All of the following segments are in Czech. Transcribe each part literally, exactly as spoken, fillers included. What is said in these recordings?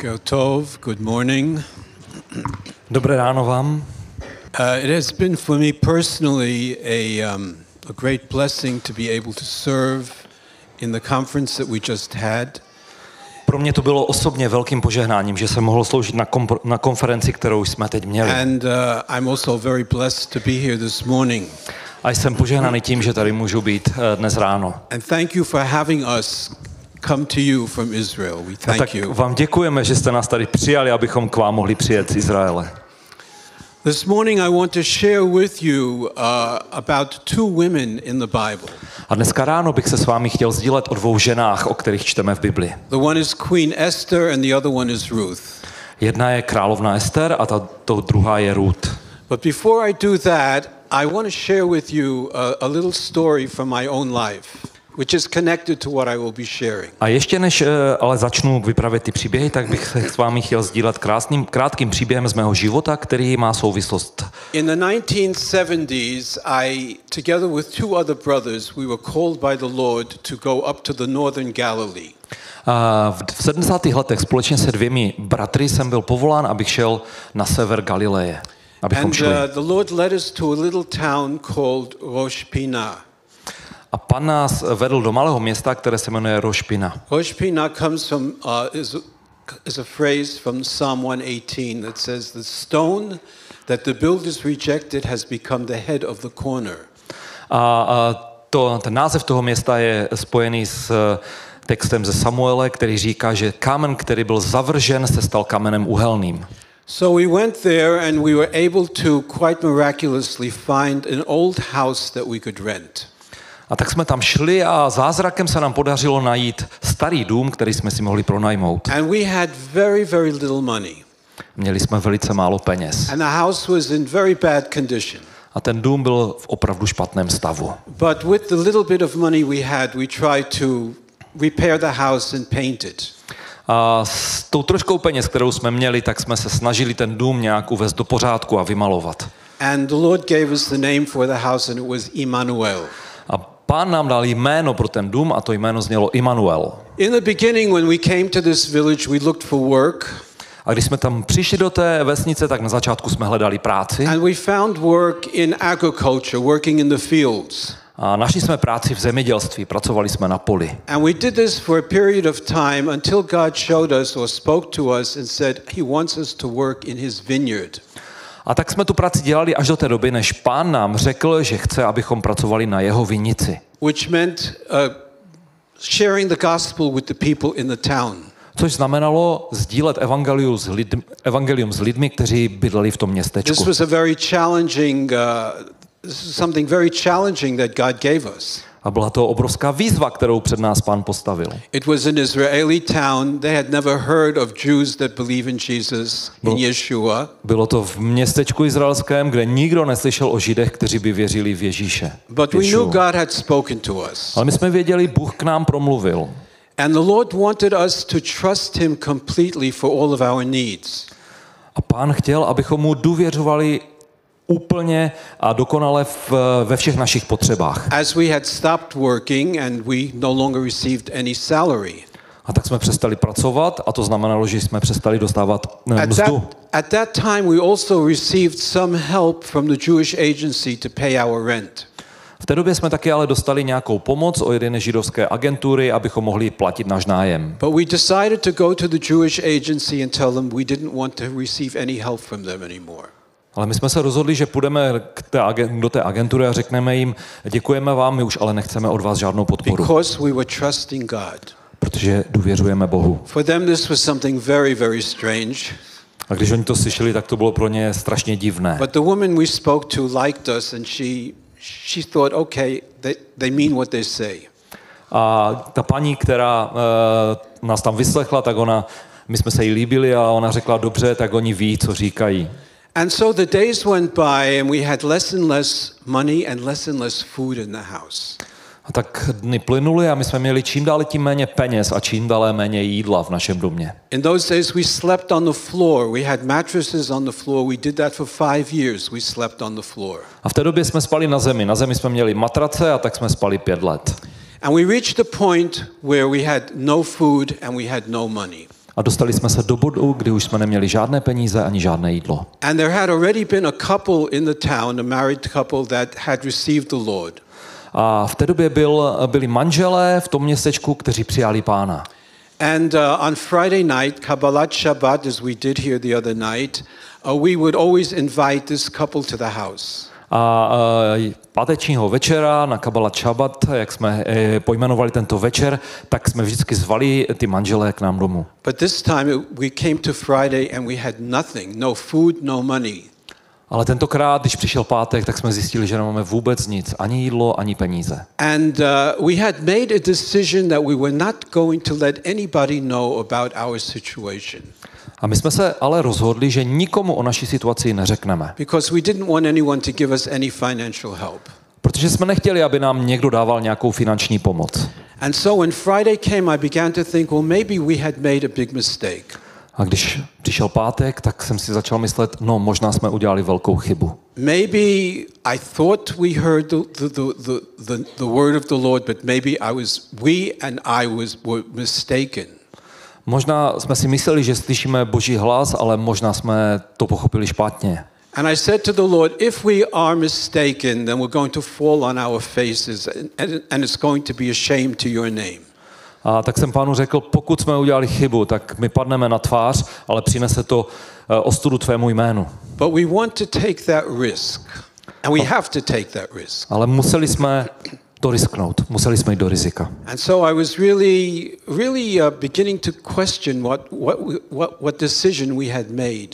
Boker Tov, good morning. Dobré ráno vám. Uh, it has been for me personally a, um, a great blessing to be able to serve in the conference that we just had. Pro mě to bylo osobně velkým požehnáním, že jsem mohl sloužit na, kom- na konferenci, kterou jsme teď měli. And uh, I'm also very blessed to be here this morning. A jsem požehnaný tím, že tady můžu být uh, dnes ráno. And thank you for having us come to you from Israel. We A thank tak you. vám děkujeme, že jste nás tady přijali, abychom k vám mohli přijet z Izraele. This morning I want to share with you uh, about two women in the Bible. A dneska ráno bych se s vámi chtěl sdílet o dvou ženách, o kterých čteme v Bibli. The one is Queen Esther and the other one is Ruth. Jedna je královna Ester a ta to druhá je Ruth. But before I do that, I want to share with you a, a little story from my own life, which is connected to what I will be sharing. A ještě než uh, ale začnu vyprávět ty příběhy, tak bych se s vámi chtěl sdílet krásným, krátkým příběhem z mého života, který má souvislost. In the nineteen seventies, I, together with two other brothers, we were called by the Lord to go up to the northern Galilee. A v sedmdesátých letech společně se dvěmi bratry jsem byl povolán, abych šel na sever Galileje, abychom And šli. uh, the Lord led us to a little town called Rosh Pinah. A pan nás vedl do malého města, které se jmenuje Rosh Pinah. Rosh Pinah comes from, uh, is, is a phrase from Psalm one eighteen that says, the stone that the builders rejected has become the head of the corner. A, a to, ten název toho města je spojený s textem ze Samuele, který říká, že kámen, který byl zavržen, se stal kamenem uhelným. So we went there and we were able to quite miraculously find an old house that we could rent. A tak jsme tam šli a zázrakem se nám podařilo najít starý dům, který jsme si mohli pronajmout. And we had very, very little money. Měli jsme velice málo peněz. And the house was in very bad condition. A ten dům byl v opravdu špatném stavu. But with the little bit of money we had, we tried to repair the house and paint it. A s tou troškou peněz, kterou jsme měli, tak jsme se snažili ten dům nějak uvést do pořádku a vymalovat. And the Lord gave us the name for the house and it was Emmanuel. A Pán nám dal jméno pro ten dům a to jméno znělo Immanuel. In the beginning when we came to this village, we looked for work. A když jsme tam přišli do té vesnice, tak na začátku jsme hledali práci. And we found work in agriculture, working in the fields. A našli jsme práci v zemědělství, pracovali jsme na poli. And we did this for a period of time until God showed us or spoke to us and said he wants us to work in his vineyard. A tak jsme tu práci dělali až do té doby, než Pán nám řekl, že chce, abychom pracovali na jeho vinici. Which meant uh, sharing the gospel with the people in the town. Což znamenalo sdílet evangelium s, lidmi, evangelium s lidmi, kteří bydleli v tom městečku. This was a very challenging, uh, this is something very challenging that God gave us. A byla to obrovská výzva, kterou před nás Pán postavil. It was an Israeli town. They had never heard of Jews that believe in Jesus, in Yeshua. Bylo to v městečku izraelském, kde nikdo neslyšel o Židech, kteří by věřili v Ježíše. But we knew God had spoken to us. Ale my jsme věděli, Bůh k nám promluvil. And the Lord wanted us to trust him completely for all of our needs. A Pán chtěl, abychom mu důvěřovali úplně a dokonale v, ve všech našich potřebách. As we had stopped working and we no longer received any salary. A tak jsme přestali pracovat a to znamenalo, že jsme přestali dostávat At mzdu. that, at that time we also received some help from the Jewish agency to pay our rent. V té době jsme taky ale dostali nějakou pomoc od jedné židovské agentury, abychom mohli platit náš nájem. But we decided to go to the Jewish agency and tell them we didn't want to receive any help from them anymore. Ale my jsme se rozhodli, že půjdeme k té, do té agentury a řekneme jim, děkujeme vám, my už ale nechceme od vás žádnou podporu. Because we were trusting God. Protože důvěřujeme Bohu. For them this was something very, very strange. A když oni to slyšeli, tak to bylo pro ně strašně divné. But the woman we spoke to liked us and she she thought, okay, they, they mean what they say. A ta paní, která uh, nás tam vyslechla, tak ona, my jsme se jí líbili a ona řekla, dobře, tak oni ví, co říkají. And so the days went by and we had less and less money and less and less food in the house. A tak dny plynuly a my jsme měli čím dál tím méně peněz a čím dál méně jídla v našem domě. In those days we slept on the floor. We had mattresses on the floor. We did that for five years. We slept on the floor. A v té době jsme spali na zemi. Na zemi jsme měli matrace a tak jsme spali pět let. And we reached the point where we had no food and we had no money. A dostali jsme se do bodu, kdy už jsme neměli žádné peníze ani žádné jídlo. And there had already been a couple in the town, a married couple that had received the Lord. A v té době byl, byli manželé v tom městečku, kteří přijali Pána. And uh, on Friday night, Kabbalat Shabbat, as we did here the other night, uh, we would always invite this couple to the house. A uh, pátečního večera na Kabbalat Shabbat, jak jsme eh, pojmenovali tento večer, tak jsme vždycky zvali ty manželé k nám domů. But this time it, we came to Friday and we had nothing, no food, no money. Ale tentokrát, když přišel pátek, tak jsme zjistili, že nemáme vůbec nic, ani jídlo, ani peníze. And uh, we had made a decision that we were not going to let anybody know about our situation. A my jsme se ale rozhodli, že nikomu o naší situaci neřekneme. Because we didn't want anyone to give us any financial help. Protože jsme nechtěli, aby nám někdo dával nějakou finanční pomoc. And so when Friday came, I began to think, well, maybe we had made a big mistake. A když přišel pátek, tak jsem si začal myslet, no možná jsme udělali velkou chybu. Maybe I thought we heard the, the, the, the, the, the word of the Lord, but maybe I was, we and I was were mistaken. Možná jsme si mysleli, že slyšíme Boží hlas, ale možná jsme to pochopili špatně. And I said to the Lord, if we are mistaken, then we're going to fall on our faces and, and, and it's going to be a shame to your name. A tak jsem Pánu řekl, pokud jsme udělali chybu, tak my padneme na tvář, ale přinese to ostudu tvému jménu. But we want to take that risk. And we have to take that risk. Ale museli jsme to risknout, museli jsme jít do rizika. And so I was really, really uh, beginning to question what, what, what, what decision we had made.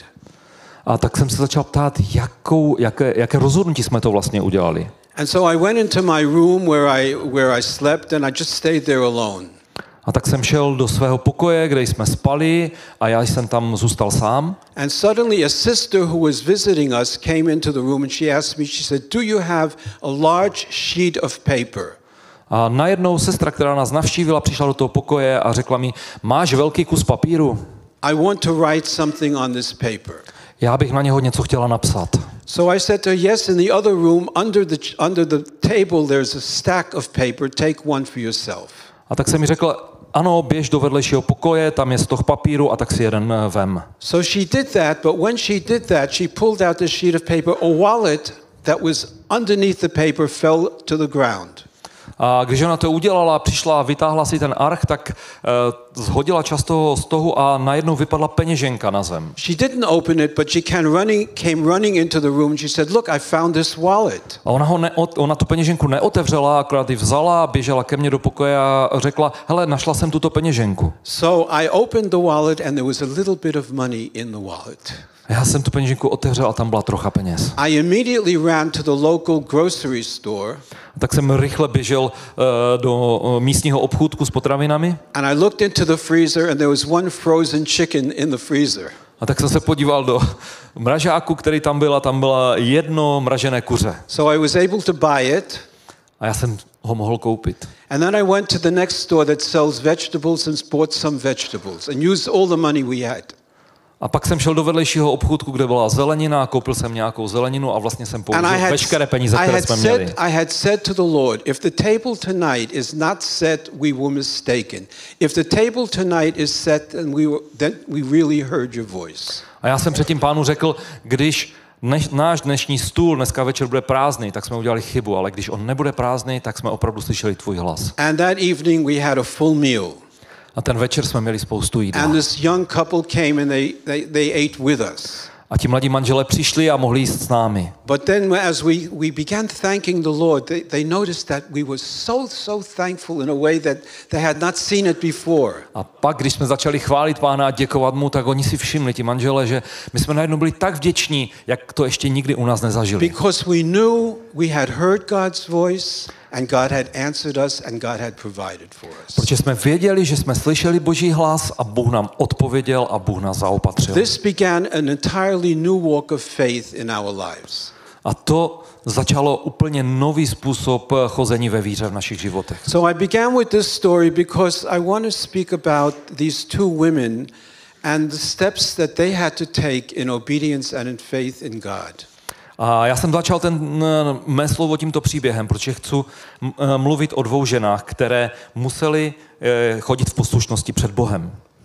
A tak jsem se začal ptát, jakou, jaké, jaké rozhodnutí jsme to vlastně udělali. And so I went into my room where I, where I slept and I just stayed there alone. A tak jsem šel do svého pokoje, kde jsme spali a já jsem tam zůstal sám. And suddenly a sister who was visiting us came into the room and she asked me, she said, do you have a large sheet of paper? A najednou sestra, která nás navštívila, přišla do toho pokoje a řekla mi, máš velký kus papíru? I want to write something on this paper. Já bych na něho něco chtěla napsat. So I said to her, yes, in the other room, under the, under the table, there's a stack of paper. Take one for yourself. A tak jsem mi řekl, ano, běž do vedlejšího pokoje, tam je stoh papíru a tak si jeden vem. So she did that, but when she did that, she pulled out the sheet of paper. A wallet that was underneath the paper fell to the ground. A když ona to udělala, přišla a vytáhla si ten arch, tak uh, zhodila část toho stohu a najednou vypadla peněženka na zem. She didn't open it, but she came running, came running into the room. She said, "Look, I found this wallet." A ona, ho neot, ona tu peněženku neotevřela, akorát ji vzala, běžela ke mně do pokoje a řekla, hele, našla jsem tuto peněženku. So I opened the wallet and there was a little bit of money in the wallet. Já jsem tu peněženku otevřel a tam byla trocha peněz. I immediately ran to the local grocery store. Tak jsem rychle běžel uh, do uh, místního obchůdku s potravinami. And I looked into the freezer and there was one frozen chicken in the freezer. A tak jsem se podíval do mražáku, který tam byl, a tam bylo jedno mražené kuře. So I was able to buy it. A já jsem ho mohl koupit. And then I went to the next store that sells vegetables and bought some vegetables and used all the money we had. A pak jsem šel do vedlejšího obchůdku, kde byla zelenina, koupil jsem nějakou zeleninu a vlastně jsem použil veškeré peníze, které jsme měli. Said, I had said to the Lord, if the table tonight is not set, we were mistaken. If the table tonight is set, then we, were, then we really heard your voice. A já jsem předtím Pánu řekl, když Než, náš dnešní stůl dneska večer bude prázdný, tak jsme udělali chybu, ale když on nebude prázdný, tak jsme opravdu slyšeli tvůj hlas. And that evening we had a full meal. A ten večer jsme měli spoustu jídla. And this young couple came and they, they, they ate with us. A ti mladí manželé přišli a mohli jíst s námi. But then as we, we began thanking the Lord, they, they noticed that we were so, so thankful in a way that they had not seen it before. A pak, když jsme začali chválit Pána a děkovat mu, tak oni si všimli, ti manželé, že my jsme najednou byli tak vděční, jak to ještě nikdy u nás nezažili. Because we knew we had heard God's voice and God had answered us and God had provided for us. Protože jsme věděli, že jsme slyšeli Boží hlas a Bůh nám odpověděl a Bůh nás zaopatřil. This began an entirely new walk of faith in our lives. A to začalo úplně nový způsob chození ve víře v našich životech. So I began with this story because I want to speak about these two women and the steps that they had to take in obedience and in faith in God. A já jsem začal ten mé slovo tímto příběhem, protože chci mluvit o dvou ženách, které musely chodit v poslušnosti před Bohem.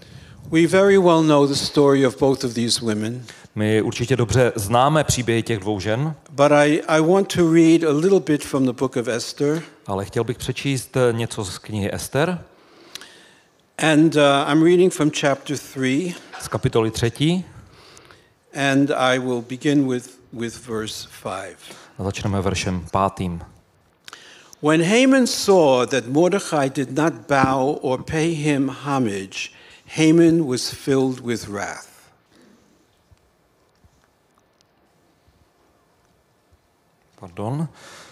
We very well know the story of both of these women, My určitě dobře známe příběhy těch dvou žen, but I, I want to read a little bit from the book of Esther. ale chtěl bych přečíst něco z knihy Ester, And uh, I'm reading from chapter three, z kapitoly třetí, and I will begin with, with verse five. a začneme veršem pátým. When Haman saw that Mordecai did not bow or pay him homage, Haman was filled with wrath. Pardon.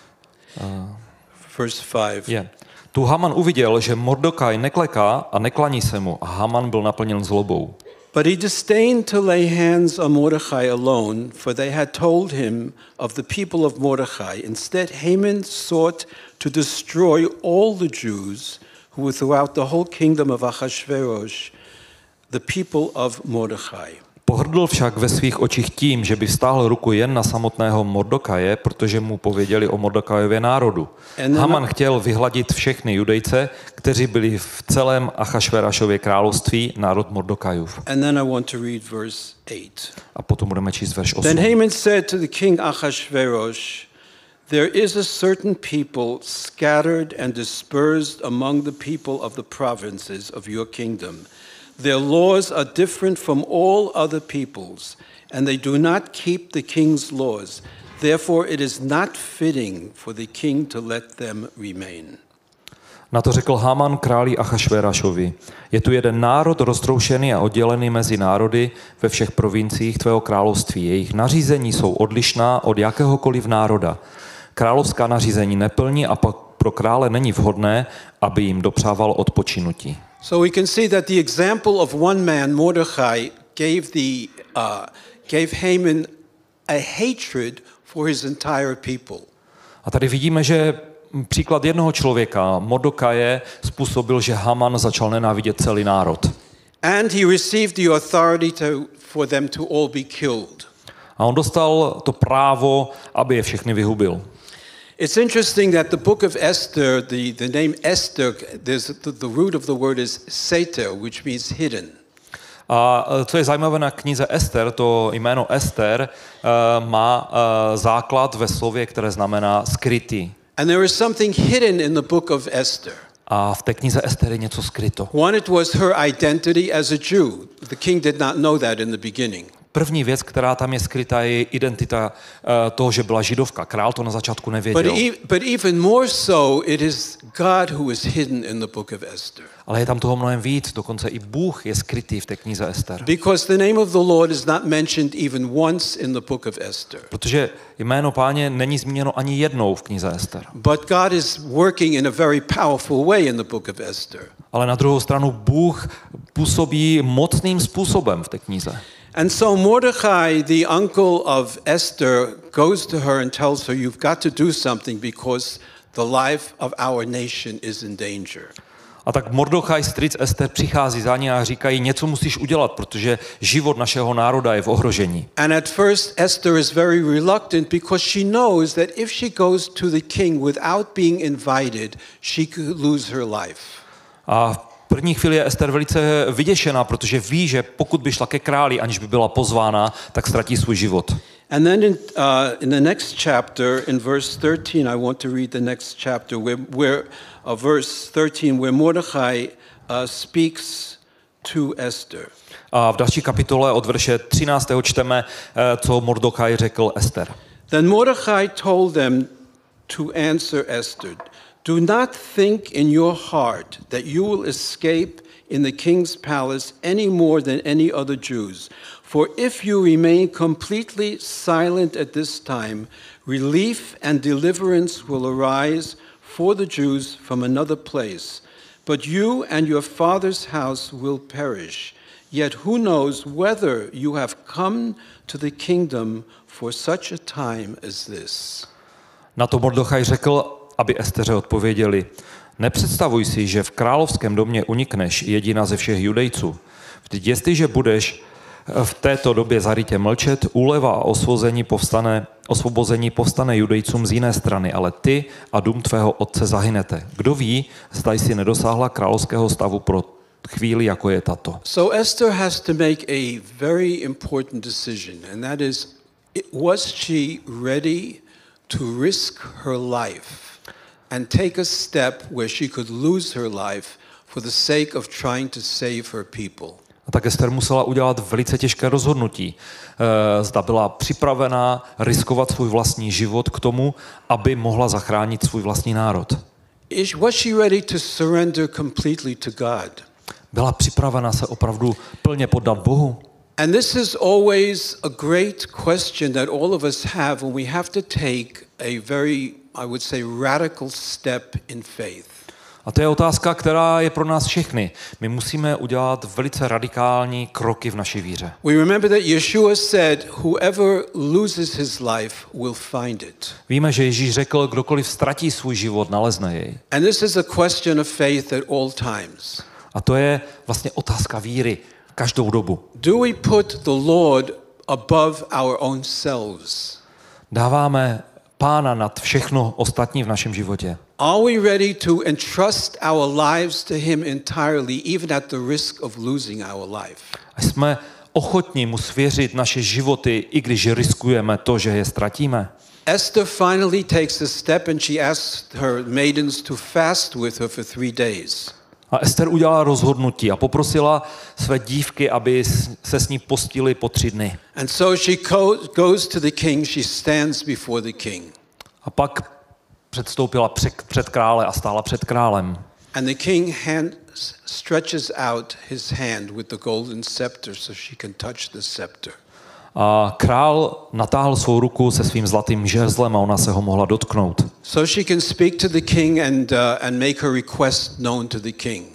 Verse five. Je. Tu Haman uviděl, že Mordokaj nekleká a neklaní se mu, a Haman byl naplněn zlobou. But he disdained to lay hands on Mordecai alone, for they had told him of the people of Mordecai. Instead, Haman sought to destroy all the Jews who were throughout the whole kingdom of Ahasuerus, the people of Mordecai. Pohrdl však ve svých očích tím, že by vztáhl ruku jen na samotného Mordokaje, protože mu pověděli o Mordokajově národu. Haman chtěl vyhladit všechny Judejce, kteří byli v celém Achašverašově království, národ Mordokajův. And then I want to read verse eight. A potom budeme číst verš Then osm. Haman said to the king Ahasuerus, there is a certain people scattered and dispersed among the people of the provinces of your kingdom. Their laws are different from all other peoples, and they do not keep the king's laws. Therefore it is not fitting for the king to let them remain. Na to řekl Haman králi Achašverašovi. Je tu jeden národ roztroušený a oddělený mezi národy ve všech provinciích tvého království. Jejich nařízení jsou odlišná od jakéhokoliv národa. Královská nařízení neplní a pak pro krále není vhodné, aby jim dopřával odpočinutí. So we can see that the example of one man, Mordecai, gave the uh, gave Haman a hatred for his entire people. A tady vidíme, že příklad jednoho člověka, Mordokaje, způsobil, že Haman začal nenávidět celý národ. And he received the authority to, for them to all be killed. A on dostal to právo, aby je všechny vyhubil. It's interesting that the book of Esther, the, the name Esther, there's the, the root of the word is seter, which means hidden. A co je zajímavé na knize Ester, to jméno Ester uh, má uh, základ ve slově, které znamená skrytý. And there is something hidden in the book of Esther. A v té knize Ester je něco skryto. One, it was her identity as a Jew. The king did not know that in the beginning. První věc, která tam je skrytá, je identita uh, toho, že byla židovka. Král to na začátku nevěděl. But, e- but even more so, it is God who is hidden in the book of Esther. Ale je tam toho mnohem víc, dokonce i Bůh je skrytý v té knize Ester. Because the name of the Lord is not mentioned even once in the book of Esther. Protože jméno Páně není zmíněno ani jednou v knize Ester. But God is working in a very powerful way in the book of Esther. Ale na druhou stranu Bůh působí mocným způsobem v té knize. And so Mordecai, the uncle of Esther, goes to her and tells her, you've got to do something because the life of our nation is in danger. A tak Mordochaj, strýc Ester, přichází za ní a říkají, něco musíš udělat, protože život našeho národa je v ohrožení. And at first Esther is very reluctant because she knows that if she goes to the king without being invited, she could lose her life. A v první chvíli je Ester velice vyděšená, protože ví, že pokud by šla ke králi, aniž by byla pozvána, tak ztratí svůj život. And then in, uh, in the next chapter, in verse thirteen, I want to read the next chapter, where, where uh, verse thirteen, where Mordecai uh, speaks to Esther. A v další kapitole od verše třináctého čteme, co Mordochaj řekl Ester. Then Mordecai told them to answer Esther, do not think in your heart that you will escape in the king's palace any more than any other Jews. For if you remain completely silent at this time, relief and deliverance will arise for the Jews from another place. But you and your father's house will perish. Yet who knows whether you have come to the kingdom for such a time as this? Na to Mordochaj řekl, aby Esteře odpověděli, nepředstavuj si, že v královském domě unikneš, jediná ze všech Judejců. Vždyť jestliže budeš v této době zarytě mlčet, úleva a osvobození povstane, osvobození povstane Judejcům z jiné strany, ale ty a dům tvého otce zahynete. Kdo ví, zda jsi nedosáhla královského stavu pro chvíli, jako je tato. So Esther has to make a very important decision, and that is, was she ready to risk her life and take a step where she could lose her life for the sake of trying to save her people? A tak Ester musela udělat velice těžké rozhodnutí. Zda byla připravená riskovat svůj vlastní život k tomu, aby mohla zachránit svůj vlastní národ. Was she ready to surrender completely to God? Byla připravena se opravdu plně poddat Bohu? And this is always a great question that all of us have when we have to take a very, I would say, radical step in faith. A to je otázka, která je pro nás všechny. My musíme udělat velice radikální kroky v naší víře. We remember that Yeshua said, whoever loses his life will find it. Víme, že Ježíš řekl, kdokoliv ztratí svůj život, nalezne jej. And this is a question of faith at all times. A to je vlastně otázka víry každou dobu. Do we put the Lord above our own selves? Dáváme Pána nad všechno ostatní v našem životě. Are we ready to entrust our lives to him entirely, even at the risk of losing our life? A jsme ochotní mu svěřit naše životy, i když riskujeme to, že je ztratíme. Esther finally takes a step and she asks her maidens to fast with her for three days. A Ester udělala rozhodnutí a poprosila své dívky, aby se s ní postili po tři dny. And so she goes to the king, she stands before the king. A pak předstoupila před krále a stála před králem. And the king hand, stretches out his hand with the golden scepter so she can touch the scepter. A král natáhl svou ruku se svým zlatým žezlem a ona se ho mohla dotknout. So she can speak to the king and uh, and make her request known to the king.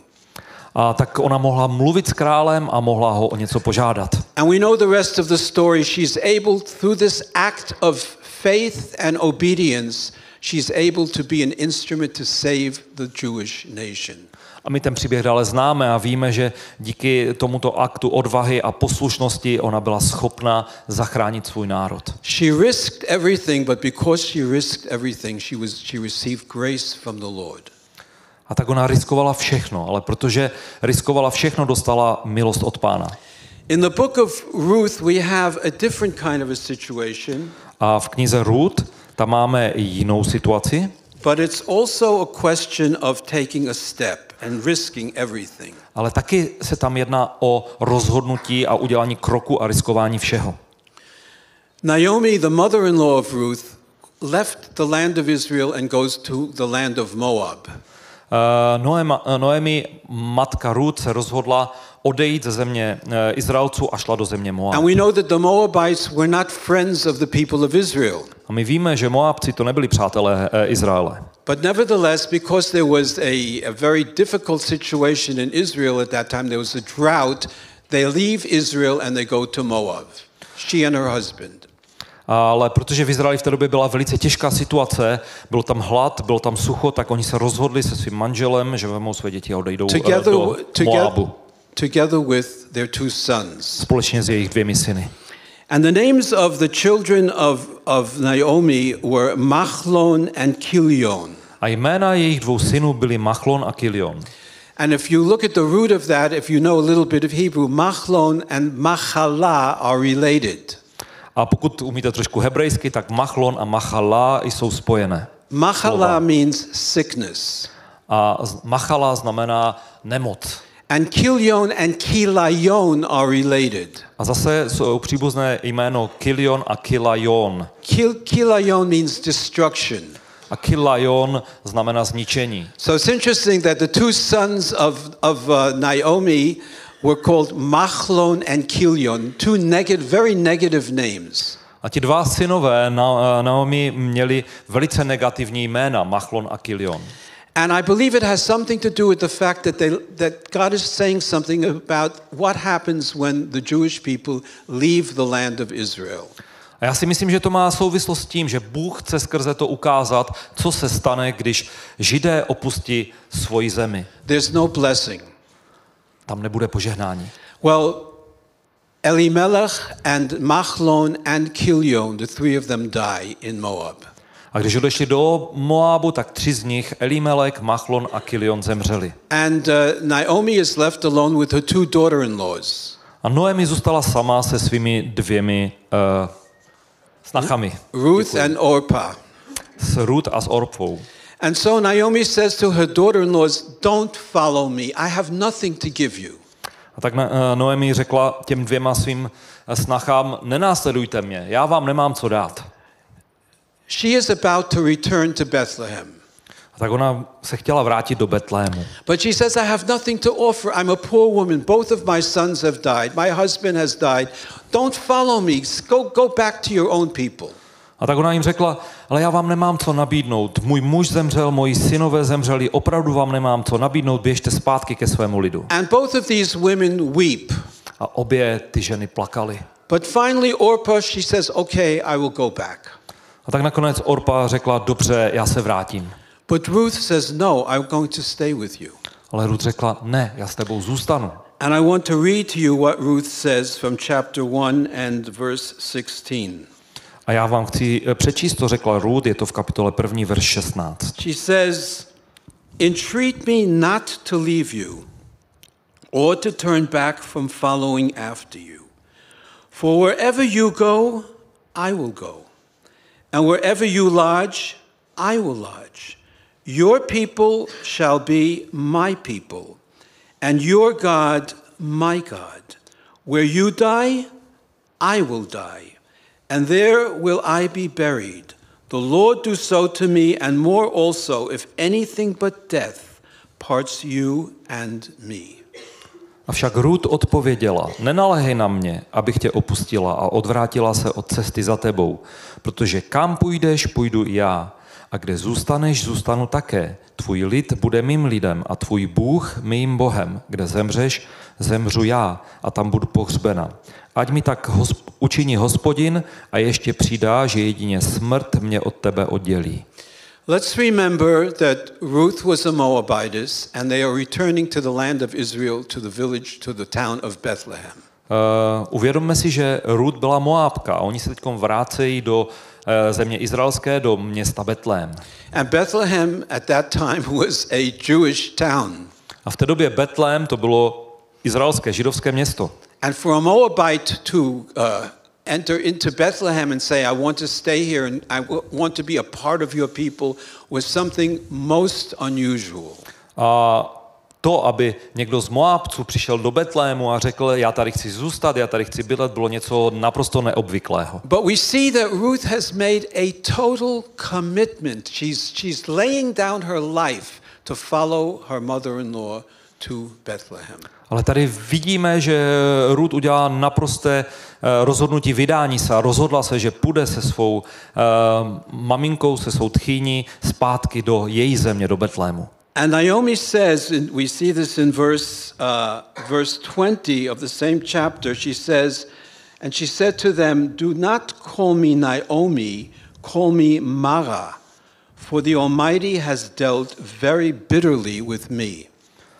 A tak ona mohla mluvit s králem a mohla ho o něco požádat. And we know the rest of the story. She's able, through this act of faith and obedience, she's able to be an instrument to save the Jewish nation. A my ten příběh dále známe a víme, že díky tomuto aktu odvahy a poslušnosti ona byla schopna zachránit svůj národ. She risked everything, but because she risked everything, she was she received grace from the Lord. A tak ona riskovala všechno, ale protože riskovala všechno, dostala milost od Pána. In the book of Ruth we have a different kind of a situation. A v knize Ruth tam máme jinou situaci. But it's also a question of taking a step and risking everything. Ale taky se tam jedná o rozhodnutí a udělání kroku a riskování všeho. Naomi, the mother-in-law of Ruth, left the land of Israel and goes to the land of Moab. Uh, Noema, Noemi, matka Ruth, se rozhodla odejít ze země uh, Izraelců a šla do země Moab. And we know that the Moabites were not friends of the people of Israel. A my víme, že Moabci to nebyli přátelé uh, Izraele. But nevertheless, because there was a, a very difficult situation in Israel at that time, there was a drought, they leave Israel and they go to Moab, she and her husband. Ale protože v Izraeli v té době byla velice těžká situace, byl tam hlad, bylo tam sucho, tak oni se rozhodli se svým manželem, že vezmou své děti a odejdou together, do Moabu. Together with their two sons. Společně s jejich dvěmi syny. And the names of the children of, of Naomi were Machlon and Kilion. A jména jejich dvou synů byly Machlon a Kilion. And if you look at the root of that, if you know a little bit of Hebrew, Machlon and Machala are related. A pokud umíte trošku hebrejsky, tak Machlon a Machala jsou spojené. Machala means sickness. A Machala znamená nemoc. And Kilion and Kilayon are related. A zase jsou příbuzné jméno Kilion a Kilayon. Kil, Kilayon means destruction. A Kilayon znamená zničení. So it's interesting that the two sons of, of uh, Naomi were called Machlon and Kilion, two negative, very negative names. A ti dva synové Naomi měli velice negativní jména, Machlon a Kilion. And I believe it has something to do with the fact that they, that God is saying something about what happens when the Jewish people leave the land of Israel. A já si myslím, že to má souvislost s tím, že Bůh chce skrze to ukázat, co se stane, když Židé opustí svoji zemi. There's no blessing. Tam nebude požehnání. Well, Elimelech and Machlon and Kilion, the three of them die in Moab. A když odešli do Moábu, tak tři z nich, Elimelech, Machlon a Kilion, zemřeli. And uh, Naomi is left alone with her two daughter-in-laws. A Noemi zůstala sama se svými dvěmi uh, snachami. Ruth and Orpah. S Ruth a s Orpou. And so Naomi says to her daughter-in-laws, don't follow me. I have nothing to give you. A tak Noemi řekla těm dvěma svým snachám, nenásledujte mě, já vám nemám co dát. She is about to return to Bethlehem. A tak ona se chtěla vrátit do Betlému. But she says, I have nothing to offer. I'm a poor woman. Both of my sons have died. My husband has died. Don't follow me. Go, go back to your own people. A tak ona jim řekla, ale já vám nemám co nabídnout. Můj muž zemřel, moji synové zemřeli, opravdu vám nemám co nabídnout, běžte zpátky ke svému lidu. And both of these women weep. A obě ty ženy plakaly. But finally Orpah, she says, okay, I will go back. A tak nakonec Orpa řekla, dobře, já se vrátím. But Ruth says, no, I'm going to stay with you. Ale Ruth řekla, ne, já s tebou zůstanu. And I want to read to you what Ruth says from chapter one and verse sixteen. A já vám chci přečíst, co řekla Ruth, je to v kapitole první, verš šestnáct. She says, entreat me not to leave you, or to turn back from following after you. For wherever you go, I will go. And wherever you lodge, I will lodge. Your people shall be my people, and your God my God. Where you die, I will die, and there will I be buried. The Lord do so to me, and more also, if anything but death parts you and me. Avšak Ruth odpověděla, nenalehej na mě, abych tě opustila a odvrátila se od cesty za tebou, protože kam půjdeš, půjdu i já. A kde zůstaneš, zůstanu také. Tvůj lid bude mým lidem a tvůj Bůh mým Bohem. Kde zemřeš, zemřu já a tam budu pohřbena. Ať mi tak hosp- učiní Hospodin a ještě přidá, že jedině smrt mě od tebe oddělí. Let's remember that Ruth was a Moabitess, and they are returning to the land of Israel, to the village, to the town of Bethlehem. Uh, uvědomme si, že Ruth byla Moábka a oni se teď vrácejí do uh, země izraelské, do města Betlém. And Bethlehem at that time was a Jewish town. A v té době Betlém to bylo izraelské, židovské město. And for a Moabite to uh, enter into Bethlehem and say, I want to stay here and I w- want to be a part of your people was something most unusual. A to, aby někdo z Moábců přišel do Betlému a řekl, já tady chci zůstat, já tady chci bydlet, bylo něco naprosto neobvyklého. But we see that Ruth has made a total commitment. She's, she's laying down her life to follow her mother-in-law to Bethlehem. Ale tady vidíme, že Ruth udělala naprosté rozhodnutí vydání se a rozhodla se, že půjde se svou uh, maminkou, se svou tchýní zpátky do její země, do Betlému. And Naomi says, and we see this in verse, uh, verse twenty of the same chapter, she says, and she said to them, do not call me Naomi, call me Mara, for the Almighty has dealt very bitterly with me.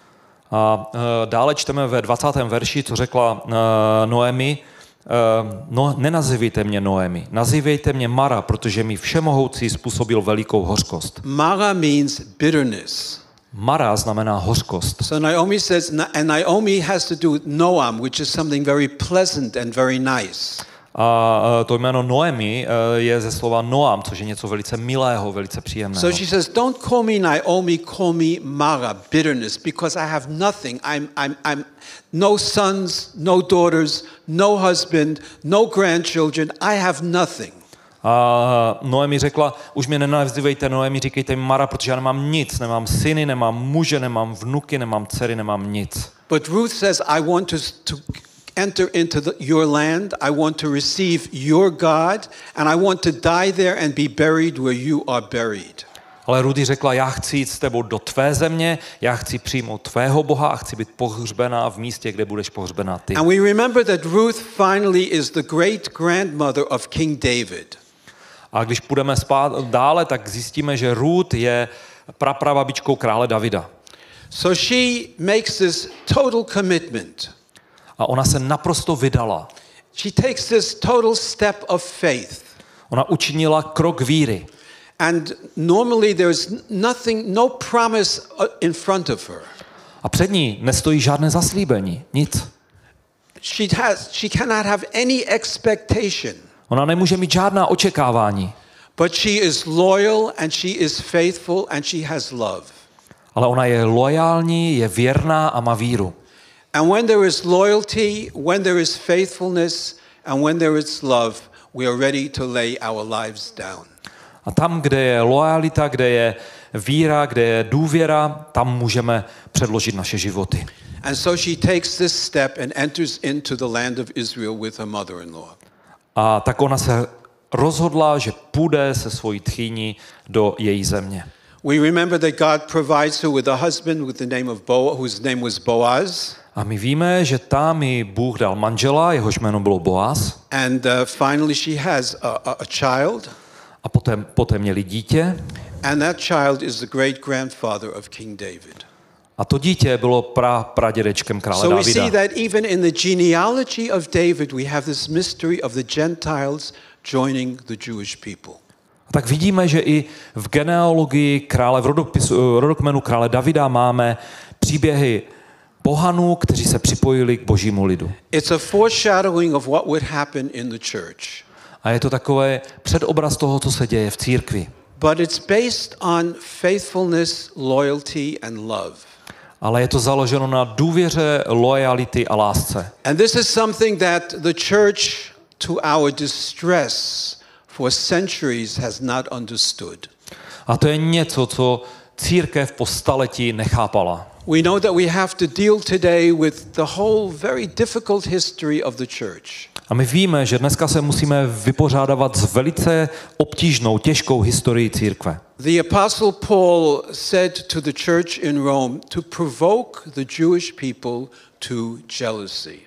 A uh, dále čteme ve dvacátém verši, co řekla uh, Noemi, uh, no, nenazývejte mě Noemi, nazývejte mě Mara, protože mi všemohoucí způsobil velikou hořkost. Mara means bitterness. Mara znamená hořkost. So Naomi says, and Naomi has to do with Noam, which is something very pleasant and very nice. A uh, to jméno Noemi uh, je ze slova Noam, což je něco velice milého, velice příjemného. So she says, don't call me Naomi, call me Mara, bitterness, because I have nothing. I'm, I'm, I'm no sons, no daughters, no husband, no grandchildren. I have nothing. A Noemi řekla, už mě nenazývejte Noemi, říkejte mi Mara, protože já nemám nic, nemám syny, nemám muže, nemám vnuky, nemám dcery, nemám nic. But Ruth says, I want to, to enter into the, your land, I want to receive your God, and I want to die there and be buried where you are buried. Ale Rudy řekla, já chci jít s tebou do tvé země, já chci přijmout tvého Boha a chci být pohřbená v místě, kde budeš pohřbená ty. And we remember that Ruth finally is the great grandmother of King David. A když půjdeme spát dále, tak zjistíme, že Ruth je praprababičkou krále Davida. So she makes this total commitment. A ona se naprosto vydala. She takes this total step of faith. Ona učinila krok víry. And normally there's nothing, no promise in front of her. A před ní nestojí žádné zaslíbení, nic. She has, she cannot have any expectation. Ona nemůže mít žádná očekávání. But she is loyal and she is faithful and she has love. Ale ona je loajální, je věrná a má víru. And when there is loyalty, when there is faithfulness and when there is love, we are ready to lay our lives down. A tam, kde je loajalita, kde je víra, kde je důvěra, tam můžeme předložit naše životy. And so she takes this step and enters into the land of Israel with her mother-in-law. A tak ona se rozhodla, že půjde se svojí tchýní do její země. We remember that God provides her with a husband with the name of Boaz, whose name was Boaz. A my víme, že tam jí Bůh dal manžela, jehož jméno bylo Boaz. And uh, finally she has a, a, a child. A poté, poté měli dítě. And that child is the great grandfather of King David. A to dítě bylo pra, pradědečkem krále So we Davida. see that even in the genealogy of David we have this mystery of the Gentiles joining the Jewish people. A tak vidíme, že i v genealogii krále, v rodopisu, rodokmenu krále Davida máme příběhy pohanů, kteří se připojili k božímu lidu. It's a foreshadowing of what would happen in the church. A je to takové předobraz toho, co se děje v církvi. But it's based on faithfulness, loyalty and love. Ale je to založeno na důvěře, loajality a lásce. And this is something that the church, to our distress, for centuries has not understood. A to je něco, co církev po staletí nechápala. We know that we have to deal today with the whole very difficult history of the church. A my víme, že dneska se musíme vypořádávat s velice obtížnou, těžkou historií církve. The apostle Paul said to the church in Rome to provoke the Jewish people to jealousy.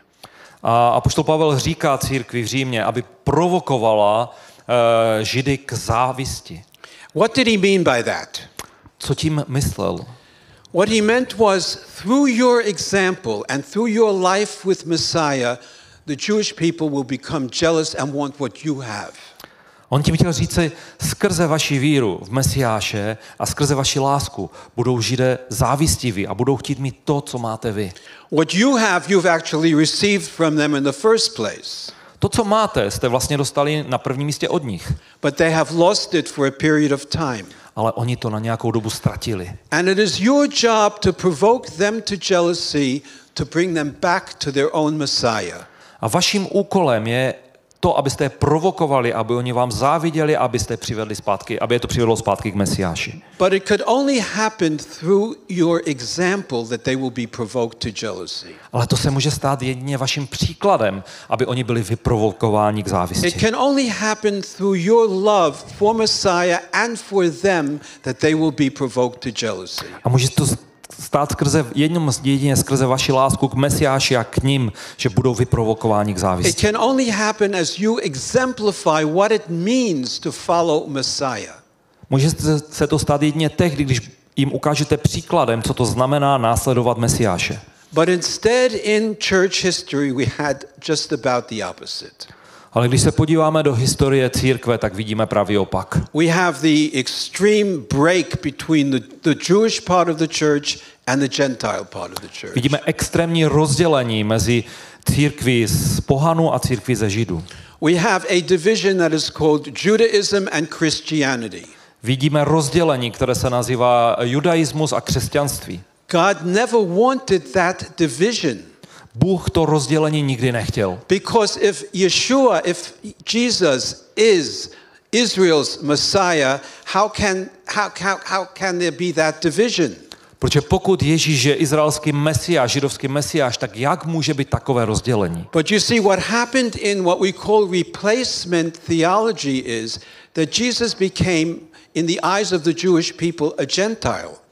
A apoštol Pavel říká církvi v Římě, aby provokovala uh, Židy k závisti. What did he mean by that? Co tím myslel? What he meant was through your example and through your life with Messiah, the Jewish people will become jealous and want what you have. On tím chtěl říci, skrze vaši víru v Mesiáše a skrze vaši lásku budou Židé závistiví a budou chtít mít to, co máte vy. What you have, you've actually received from them in the first place. To, co máte, jste vlastně dostali na prvním místě od nich. But they have lost it for a period of time. Ale oni to na nějakou dobu ztratili. And it is your job to provoke them to jealousy, to bring them back to their own Messiah. A vaším úkolem je to, abyste je provokovali, aby oni vám záviděli, abyste je přivedli zpátky, aby je to přivedlo zpátky k Mesiáši. But it could only happen through your example that they will be provoked to jealousy. Ale to se může stát jedině vaším příkladem, aby oni byli vyprovokováni k závisti. It can only happen through your love for Messiah and for them that they will be provoked to jealousy. A může to stát skrze, jedním, jedině skrze vaši lásku k Mesiáši a k ním, že budou vyprovokováni k It závisti. can only happen as you exemplify what it means to follow Messiah. Může se to stát jedině tehdy, když jim ukážete příkladem, co to znamená následovat Mesiáše. But instead in church history we had just about the opposite. Ale když se podíváme do historie církve, tak vidíme pravý opak. We have the extreme break between the, the Jewish part of the church and the Gentile part of the church. Vidíme extrémní rozdělení mezi církví z pohanů a církví ze Židů. We have a division that is called Judaism and Christianity. Vidíme rozdělení, které se nazývá judaismus a křesťanství. God never wanted that division. Bůh to rozdělení nikdy nechtěl. Because if Yeshua, if Jesus is Israel's Messiah, how can, how, how, how can there be that division? Protože pokud Ježíš je izraelský mesiáš, židovský mesiáš, tak jak může být takové rozdělení? But you see, what happened in what we call replacement theology is that Jesus became, in the eyes of the Jewish people, a Gentile.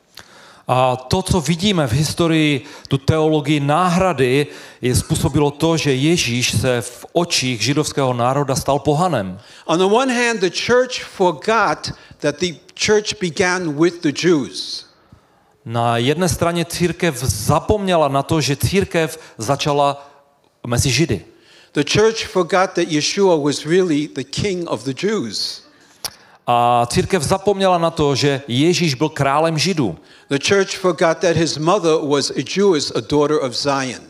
A to, co vidíme v historii, tu teologii náhrady, je způsobilo to, že Ježíš se v očích židovského národa stal pohanem. On the one hand, the church forgot that the church began with the Jews. Na jedné straně církev zapomněla na to, že církev začala mezi Židy. The church forgot that Yeshua was really the king of the Jews. A církev zapomněla na to, že Ježíš byl králem Židů. The church forgot that his mother was a Jewess, a daughter of Zion.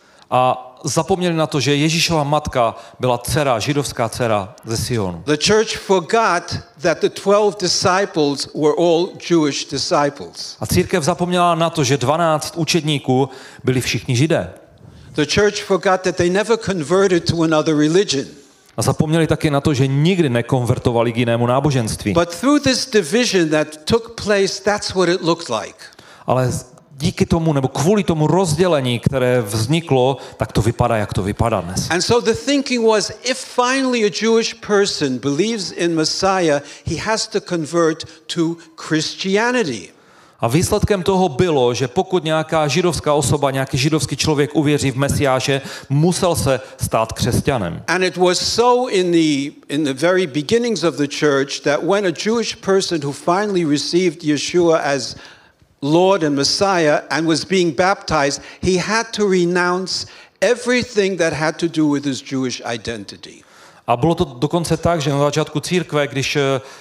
A zapomněli na to, že Ježíšova matka byla dcera, židovská dcera ze Sionu. The church forgot that the twelve disciples were all Jewish disciples. A církev zapomněla na to, že dvanáct učedníků byli všichni Židé. The church forgot that they never converted to another religion. A zapomněli taky na to, že nikdy nekonvertovali k jinému náboženství. But through this division that took place, that's what it looked like. Ale díky tomu, nebo kvůli tomu rozdělení, které vzniklo, tak to vypadá, jak to vypadá dnes. And so the thinking was, if finally a Jewish person believes in Messiah, he has to convert to Christianity. A výsledkem toho bylo, že pokud nějaká židovská osoba, nějaký židovský člověk uvěří v Mesiáše, musel se stát křesťanem. And it was so in the in the very beginnings of the church that when a Jewish person who finally received Yeshua as Lord and Messiah and was being baptized, he had to renounce everything that had to do with his Jewish identity. A bylo to dokonce tak, že na začátku církve, když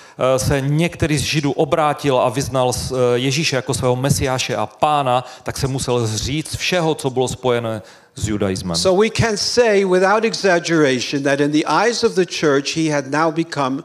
se některý z Židů obrátil a vyznal Ježíše jako svého Mesiáše a pána, tak se musel zříct všeho, co bylo spojené s judaismem. So we can say without exaggeration that in the eyes of the church he had now become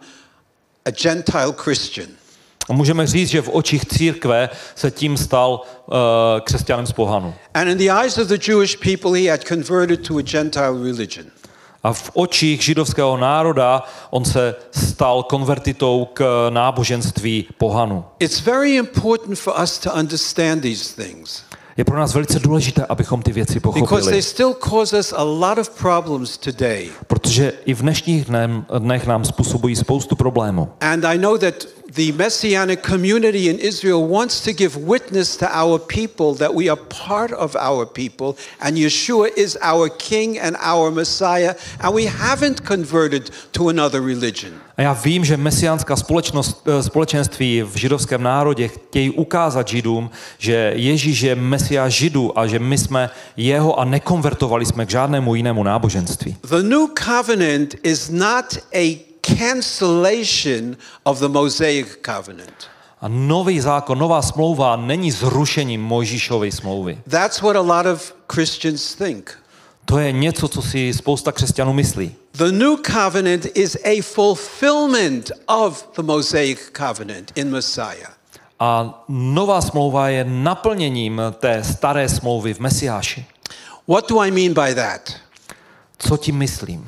a Gentile Christian. A můžeme říct, že v očích církve se tím stal uh, křesťanem z pohanu. And in the eyes of the Jewish people he had converted to a Gentile religion. A v očích židovského národa on se stal konvertitou k náboženství pohanu. It's very important for us to understand these things. Je pro nás velice důležité, abychom ty věci Because they pochopili. still cause us a lot of problems today. Protože i v dnešních dnem, dnech nám způsobují spoustu problémů. And I know that the Messianic community in Israel wants to give witness to our people that we are part of our people and Yeshua is our King and our Messiah and we haven't converted to another religion. A já vím, že mesiánská společnost, společenství v židovském národě chtějí ukázat Židům, že Ježíš je Mesiáš Židů a že my jsme jeho a nekonvertovali jsme k žádnému jinému náboženství. The new covenant is not a cancellation of the Mosaic covenant. A nový zákon, nová smlouva není zrušením Mojžíšovy smlouvy. That's what a lot of Christians think. To je něco, co si spousta křesťanů myslí. The new covenant is a fulfillment of the Mosaic covenant in Messiah. A nová smlouva je naplněním té staré smlouvy v Mesiáši. What do I mean by that? Co tím myslím?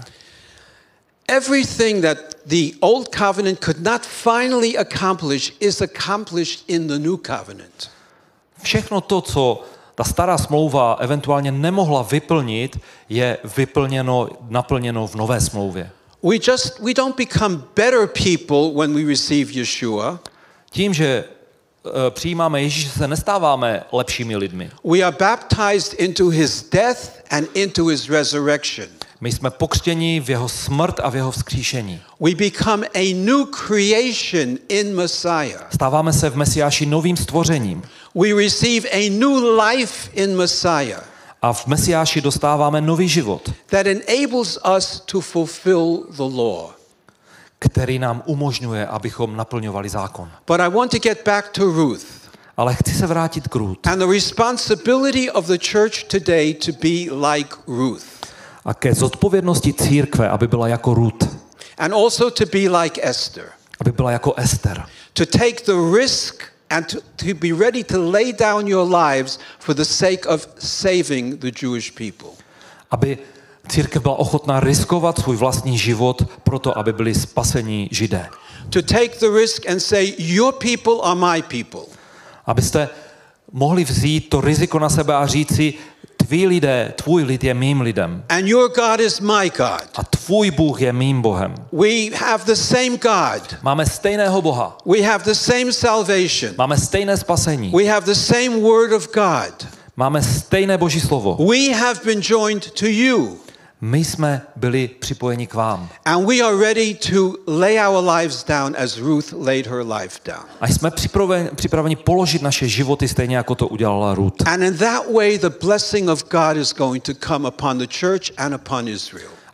Everything that the old covenant could not finally accomplish is accomplished in the new covenant. Všechno to, co ta stará smlouva eventuálně nemohla vyplnit, je vyplněno, naplněno v nové smlouvě. We just we don't become better people when we receive Yeshua. Tím, že uh, přijímáme Ježíše, se nestáváme lepšími lidmi. We are baptized into his death and into his resurrection. My jsme pokřtěni v jeho smrt a v jeho vzkříšení. We become a new creation in Messiah. Stáváme se v Mesiáši novým stvořením. We receive a new life in Messiah. A v Mesiáši dostáváme nový život, That enables us to fulfill the law. který nám umožňuje, abychom naplňovali zákon. But I want to get back to Ruth. Ale chci se vrátit k Ruth. And the responsibility of the church today to be like Ruth. A ke zodpovědnosti církve, aby byla jako Ruth. And also to be like Esther. Aby byla jako Ester. To take the risk and to, to be ready to lay down your lives for the sake of saving the Jewish people. Aby církev byla ochotná riskovat svůj vlastní život proto, aby byli spaseni Židé. To take the risk and say, your people are my people. Abyste mohli vzít to riziko na sebe a říci, tví lidé, tvůj lid je mým lidem. And your God is my God. A tvůj Bůh je mým Bohem. We have the same God. Máme stejného Boha. We have the same salvation. Máme stejné spasení. We have the same word of God. Máme stejné Boží slovo. We have been joined to you. My jsme byli připojeni k vám. And we are ready to lay our lives down as Ruth laid her life down. A jsme připraveni, připraveni položit naše životy stejně, jako to udělala Ruth. And in that way the blessing of God is going to come upon the church and upon Israel.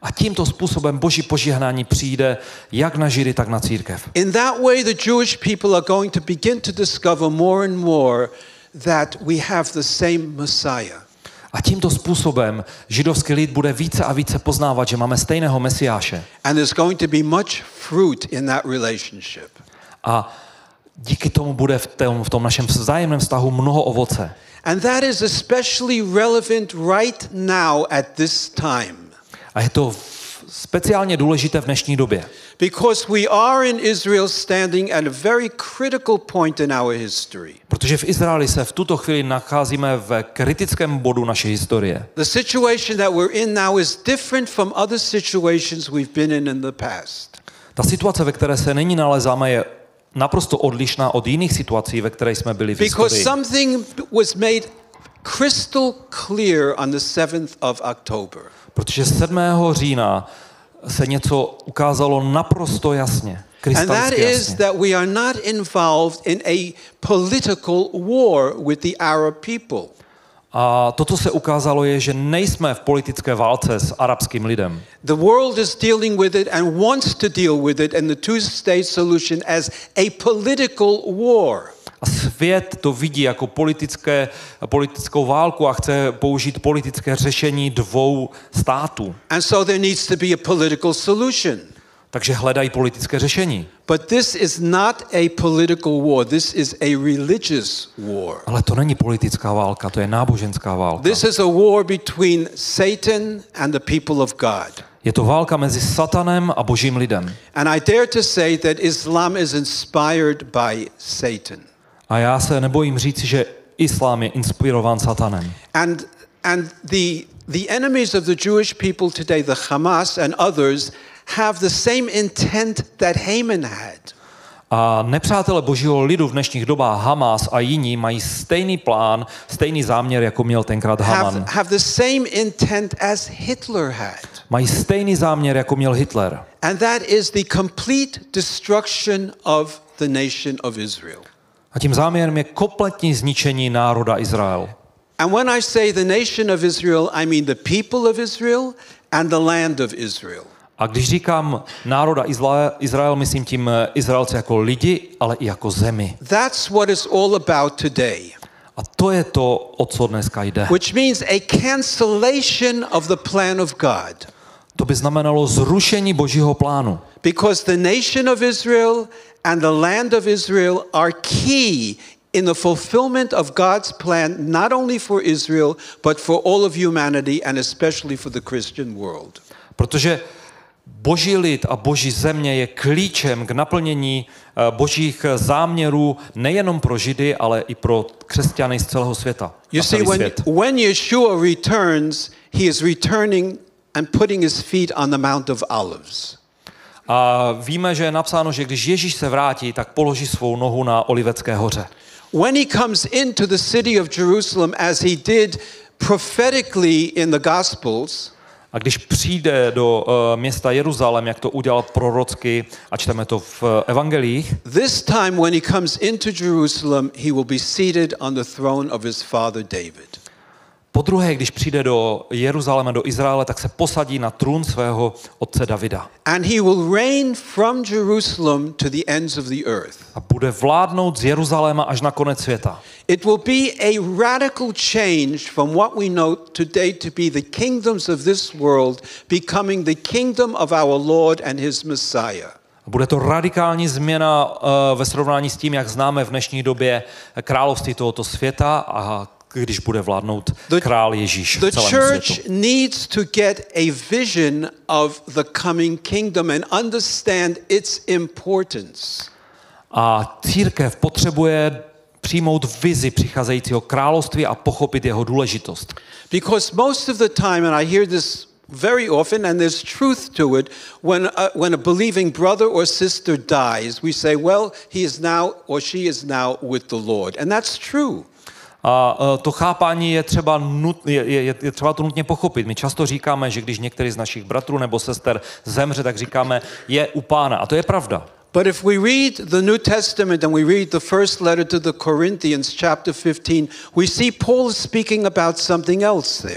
A tímto způsobem Boží požehnání přijde jak na Židy, tak na církev. In that way, the Jewish people are going to begin to discover more and more that we have the same Messiah. A tímto způsobem židovský lid bude více a více poznávat, že máme stejného Mesiáše. And there's going to be much fruit in that relationship. A díky tomu bude v tom, v tom našem vzájemném vztahu mnoho ovoce. And that is especially relevant right now at this time. A je to speciálně důležité v dnešní době. Because we are in Israel standing at a very critical point in our history. Protože v Izraeli se v tuto chvíli nacházíme v kritickém bodu naší historie. The situation that we're in now is different from other situations we've been in in the past. Ta situace, ve které se nyní nalezáme, je naprosto odlišná od jiných situací, ve které jsme byli v Because historii. something was made crystal clear on the seventh of October. Protože sedmého října se něco ukázalo naprosto jasně, And that krystalicky is jasně. that we are not involved in a political war with the Arab people. A to, co se ukázalo, je, že nejsme v politické válce s arabským lidem. The world is dealing with it and wants to deal with it and the two-state solution as a political war. A svět to vidí jako politické, politickou válku a chce použít politické řešení dvou států. And so there needs to be a political solution. Takže hledají politické řešení. But this is not a political war. This is a religious war. Ale to není politická válka, to je náboženská válka. This is a war between Satan and the people of God. Je to válka mezi Satanem a Božím lidem. And I dare to say that Islam is inspired by Satan. A já se nebojím říct, že islám je inspirován Satanem. And and the the enemies of the Jewish people today, the Hamas and others, have the same intent that Haman had. A nepřátelé Božího lidu v dnešních dobách, Hamas a jiní, mají stejný plán, stejný záměr, jako měl tenkrát Haman. Have, have the same intent as Hitler had. Mají stejný záměr, jako měl Hitler. And that is the complete destruction of the nation of Israel. A tím záměrem je kompletní zničení národa Izrael. And when I say the nation of Israel, I mean the people of Israel and the land of Israel. A když říkám národa Izrael, myslím tím Izraelce jako lidi, ale i jako zemi. That's what it's all about today. A to je to, o co dneska jde. Which means a cancellation of the plan of God. To by znamenalo zrušení Božího plánu. Because the nation of Israel and the land of Israel are key in the fulfillment of God's plan, not only for Israel, but for all of humanity and especially for the Christian world. Protože Boží lid a Boží země je klíčem k naplnění Božích záměrů nejenom pro Židy, ale i pro křesťany z celého světa. You see, when, when Yeshua returns, he is returning and putting his feet on the Mount of Olives. A víme, že je napsáno, že když Ježíš se vrátí, tak položí svou nohu na Olivecké hoře. When he comes into the city of Jerusalem, as he did prophetically in the Gospels, a když přijde do uh, města Jeruzalém, jak to udělal prorocky, a čteme to v uh, evangelích, this time when he comes into Jerusalem, he will be seated on the throne of his father David. Po druhé, když přijde do Jeruzaléma, do Izraele, tak se posadí na trůn svého otce Davida. And he will reign from Jerusalem to the ends of the earth. A bude vládnout z Jeruzaléma až na konec světa. It will be a radical change from what we know today to be the kingdoms of this world becoming the kingdom of our Lord and his Messiah. Bude to radikální změna uh, ve srovnání s tím, jak známe v dnešní době království tohoto světa a když bude vládnout král Ježíš the celému church světu. needs to get a vision of the coming kingdom and understand its importance. A církev potřebuje přijmout vizi přicházejícího království a pochopit jeho důležitost. Because most of the time, and I hear this very often, and there's truth to it, when a, when a believing brother or sister dies, we say, well, he is now or she is now with the Lord. And that's true. A to chápání je třeba, nut, je, je, je třeba to nutně pochopit. My často říkáme, že když některý z našich bratrů nebo sester zemře, tak říkáme, je u Pána. A to je pravda. But if we read the New Testament and we read the first letter to the Corinthians, chapter fifteen, we see Paul speaking about something else there.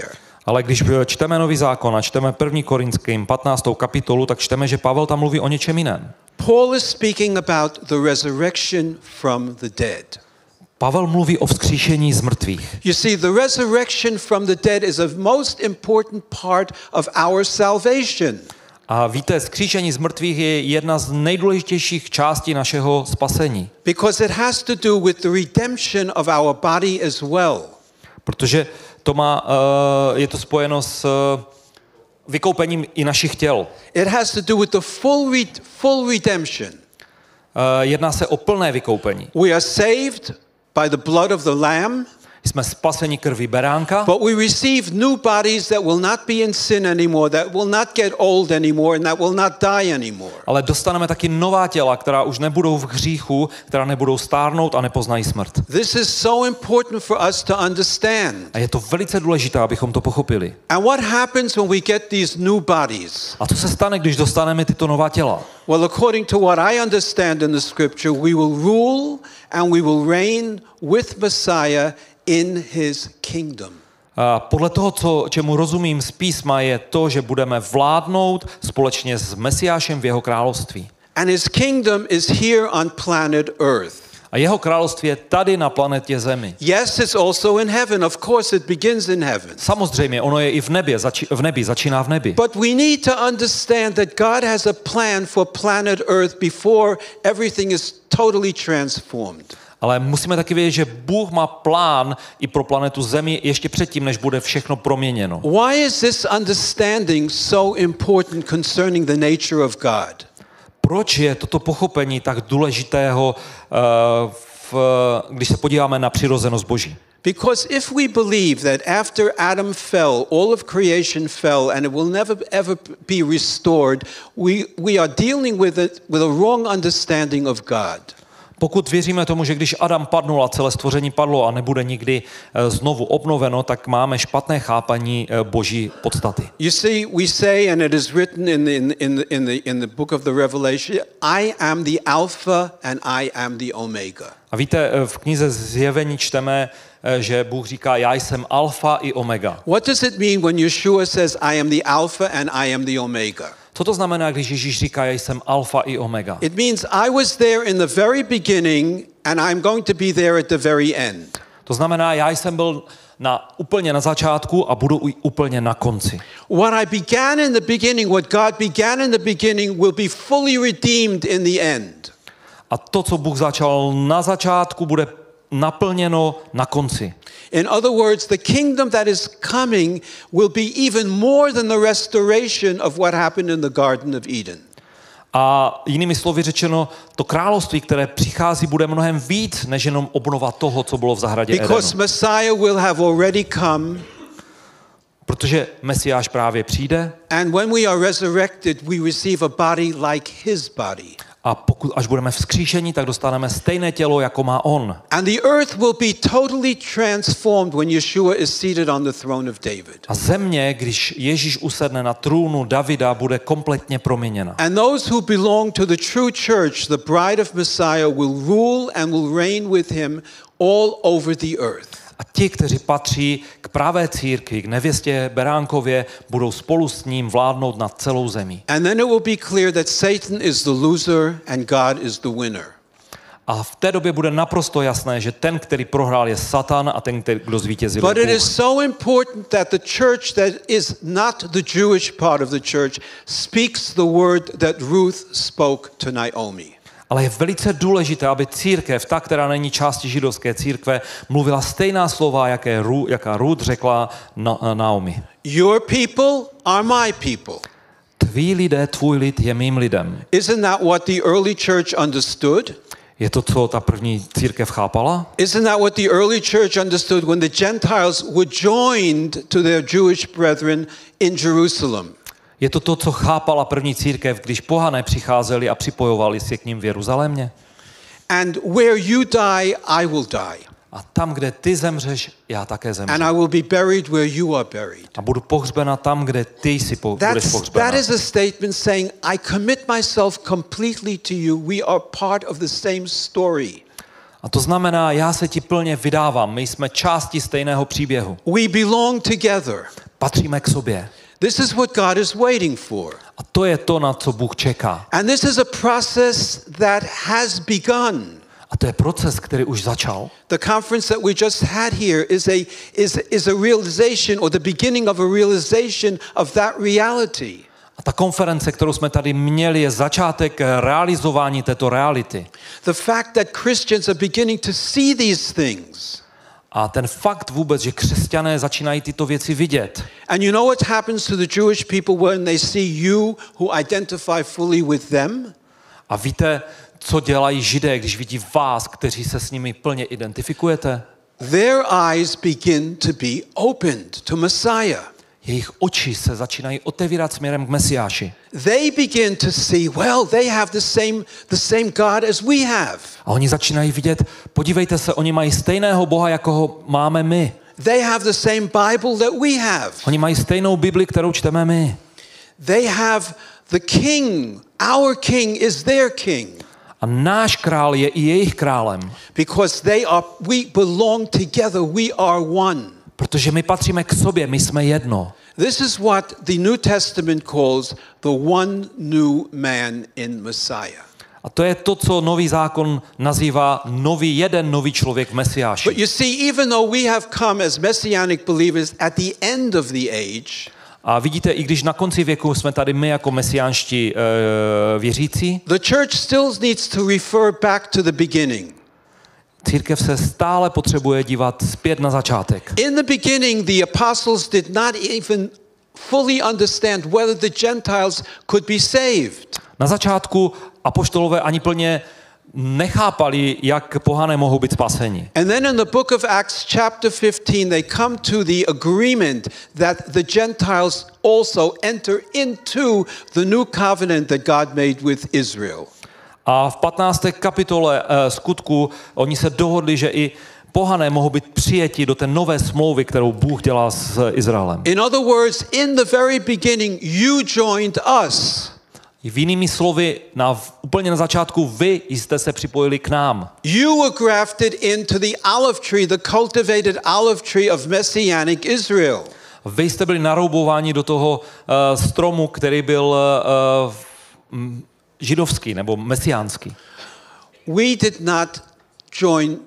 Ale když čteme Nový zákon a čteme první Korinským patnáctou kapitolu, tak čteme, že Pavel tam mluví o něčem jiném. Paul is speaking about the resurrection from the dead. Pavel mluví o vzkříšení z mrtvých. You see, the resurrection from the dead is a most important part of our salvation. A víte, vzkříšení z mrtvých je jedna z nejdůležitějších částí našeho spasení. Because it has to do with the redemption of our body as well. Protože to má, uh, je to spojeno s uh, vykoupením i našich těl. It has to do with the full re- full redemption. Uh, jedná se o plné vykoupení. We are saved by the blood of the Lamb. Jsme spaseni krví beránka, But we receive new bodies that will not be in sin anymore, that will not get old anymore, and that will not die anymore. ale dostaneme taky nová těla, která už nebudou v hříchu, která nebudou stárnout a nepoznají smrt. This is so important for us to understand. A je to velice důležité, abychom to pochopili. And what happens when we get these new bodies? A co se stane, když dostaneme tyto nová těla? Well, according to what I understand in the scripture, we will rule and we will reign with Messiah in his kingdom. A podle toho, co, čemu rozumím z písma, je to, že budeme vládnout společně s Mesiášem v jeho království. And his kingdom is here on planet Earth. A jeho království je tady na planetě Zemi. Yes, it's also in heaven. Of course, it begins in heaven. Samozřejmě, ono je i v nebi, zači, v nebi, začíná v nebi. But we need to understand that God has a plan for planet Earth before everything is totally transformed. Ale musíme taky vědět, že Bůh má plán i pro planetu Zemi ještě předtím, než bude všechno proměněno. Why is this understanding so important concerning the nature of God? Proč je toto pochopení tak důležitého, uh, v, když se podíváme na přirozenost Boží? Because if we believe that after Adam fell, all of creation fell and it will never ever be restored, we, we are dealing with it with a wrong understanding of God. Pokud věříme tomu, že když Adam padnul a celé stvoření padlo a nebude nikdy znovu obnoveno, tak máme špatné chápaní Boží podstaty. You see, we say, and it is written in the, in, in, the, in, the, in the book of the Revelation, I am the Alpha and I am the Omega. A víte, v knize Zjevení čteme, že Bůh říká, já jsem alfa i omega. What does it mean when Yeshua says, I am the Alpha and I am the Omega? Co to znamená, když Ježíš říká, já jsem alfa i omega? It means I was there in the very beginning and I'm going to be there at the very end. To znamená, já jsem byl na, úplně na začátku a budu úplně na konci. What I began in the beginning, what God began in the beginning will be fully redeemed in the end. A to, co Bůh začal na začátku, bude naplněno na konci. In other words, the kingdom that is coming will be even more than the restoration of what happened in the Garden of Eden. A jinými slovy řečeno, to království, které přichází, bude mnohem víc, než jenom obnova toho, co bylo v zahradě Edenu. Because Messiah will have already come. Protože Mesiáš právě přijde. And when we are resurrected, we receive a body like his body. A pokud až budeme vzkříšeni, tak dostaneme stejné tělo, jako má on. And the earth will be totally transformed when Yeshua is seated on the throne of David. A země, když Ježíš usedne na trůnu Davida, bude kompletně proměněna. And those who belong to the true church, the bride of Messiah, will rule and will reign with him all over the earth. A ti, kteří patří k pravé církvi, k nevěstě Beránkově, budou spolu s ním vládnout nad celou zemí. And then it will be clear that Satan is the loser and God is the winner. A v té době bude naprosto jasné, že ten, který prohrál, je Satan a ten, který, kdo zvítězil, But je it Bůh. is so important that the church that is not the Jewish part of the church speaks the word that Ruth spoke to Naomi. Ale je velice důležité, aby církev, ta, která není částí židovské církve, mluvila stejná slova, jaké Ru, jaká Ruth řekla na, Naomi. Your people are my people. Tví lidé, tvůj lid je mým lidem. Isn't that what the early church understood? Je to, co ta první církev chápala? Isn't that what the early church understood when the Gentiles were joined to their Jewish brethren in Jerusalem? Je to to, co chápala první církev, když pohané přicházeli a připojovali se k ním v Jeruzalémě? And where you die, I will die. A tam, kde ty zemřeš, já také zemřu. And I will be buried where you are buried. A budu pohřbena tam, kde ty jsi po, budeš That's, pohřbena. that is a statement saying, I commit myself completely to you. We are part of the same story. A to znamená, já se ti plně vydávám. My jsme části stejného příběhu. We belong together. Patříme k sobě. This is what God is waiting for. A to je to, na co Bůh čeká. And this is a process that has begun. A to je proces, který už začal. The conference that we just had here is a, is, is a realization or the beginning of a realization of that reality. A ta konference, kterou jsme tady měli, je začátek realizování této reality. The fact that Christians are beginning to see these things. A ten fakt vůbec, že křesťané začínají tyto věci vidět. And you know what happens to the Jewish people when they see you who identify fully with them? A víte, co dělají Židé, když vidí vás, kteří se s nimi plně identifikujete? Their eyes begin to be opened to Messiah. Jejich oči se začínají otevírat směrem k Mesiáši. They begin to see, well, they have the same, the same God as we have. A oni začínají vidět, podívejte se, oni mají stejného Boha, jako ho máme my. They have the same Bible that we have. Oni mají stejnou Bibli, kterou čteme my. They have the king. Our king is their king. A náš král je i jejich králem. Because they are, we belong together, we are one. Protože my patříme k sobě, my jsme jedno. This is what the New Testament calls the one new man in Messiah. A to je to, co nový zákon nazývá nový jeden nový člověk v Mesiáši. But you see, even though we have come as messianic believers at the end of the age, a vidíte, i když na konci věku jsme tady my jako mesiánští uh, věřící, the church still needs to refer back to the beginning. Církev se stále potřebuje dívat zpět na začátek. In the beginning, the apostles did not even fully understand whether the Gentiles could be saved. Na začátku apoštolové ani plně nechápali, jak pohané mohou být spaseni. And then in the book of Acts chapter fifteen, they come to the agreement that the Gentiles also enter into the new covenant that God made with Israel. A v patnácté kapitole uh, skutku oni se dohodli, že i pohané mohou být přijeti do té nové smlouvy, kterou Bůh dělá s Izraelem. In other words, in the very beginning, you joined us. V jinými slovy, na, úplně na začátku vy jste se připojili k nám. You were grafted into the olive tree, the cultivated olive tree of Messianic Israel. Vy jste byli naroubováni do toho uh, stromu, který byl uh, m, židovský nebo mesiánský. We did not join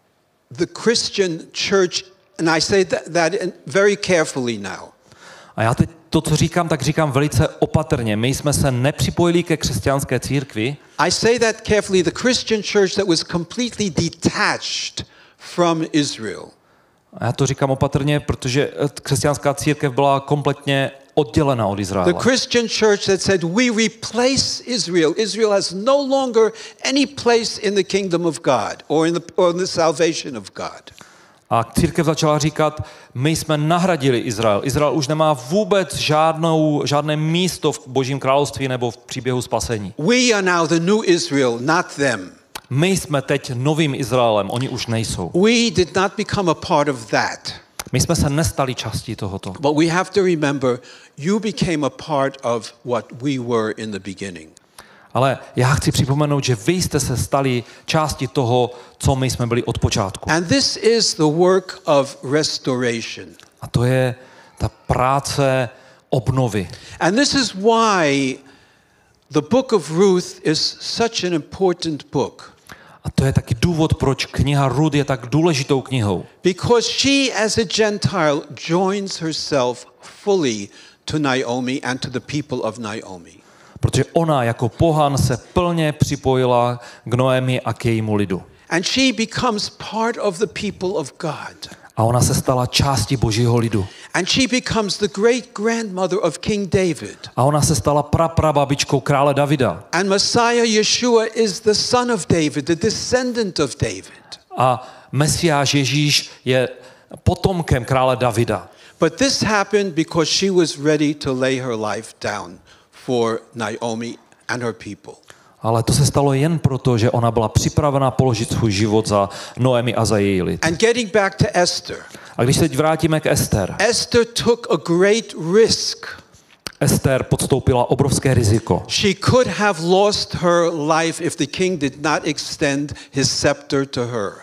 the Christian church, and I say that, that very carefully now. A já teď to, co říkám, tak říkám velice opatrně. My jsme se nepřipojili ke křesťanské církvi. I say that carefully. The Christian church that was completely detached from Israel. A já to říkám opatrně, protože křesťanská církev byla kompletně oddělena od Izraele. The Christian church that said we replace Israel. Israel has no longer any place in the kingdom of God or in the, or in the salvation of God. A církev začala říkat, my jsme nahradili Izrael. Izrael už nemá vůbec žádnou, žádné místo v Božím království nebo v příběhu spasení. We are now the new Israel, not them. My jsme teď novým Izraelem, oni už nejsou. We did not become a part of that. My jsme se nestali částí tohoto. But we have to remember, you became a part of what we were in the beginning. Ale já chci připomenout, že vy jste se stali částí toho, co my jsme byli od počátku. And this is the work of restoration. A to je ta práce obnovy. And this is why the book of Ruth is such an important book. A to je taky důvod, proč kniha Rut je tak důležitou knihou. Because she as a Gentile joins herself fully to Naomi and to the people of Naomi. Protože ona jako pohan se plně připojila k Noemi a k jejímu lidu. And she becomes part of the people of God. A ona se stala částí Božího lidu. And she becomes the great grandmother of King David. A ona se stala praprababičkou krále Davida. And Messiah Yeshua is the son of David, the descendant of David. A Mesiáš Ježíš je potomkem krále Davida. But this happened because she was ready to lay her life down for Naomi and her people. Ale to se stalo jen proto, že ona byla připravena položit svůj život za Noemi a za její lid. And getting back to Esther. A když se teď vrátíme k Ester. Esther took a great risk. Ester podstoupila obrovské riziko. She could have lost her life if the king did not extend his scepter to her.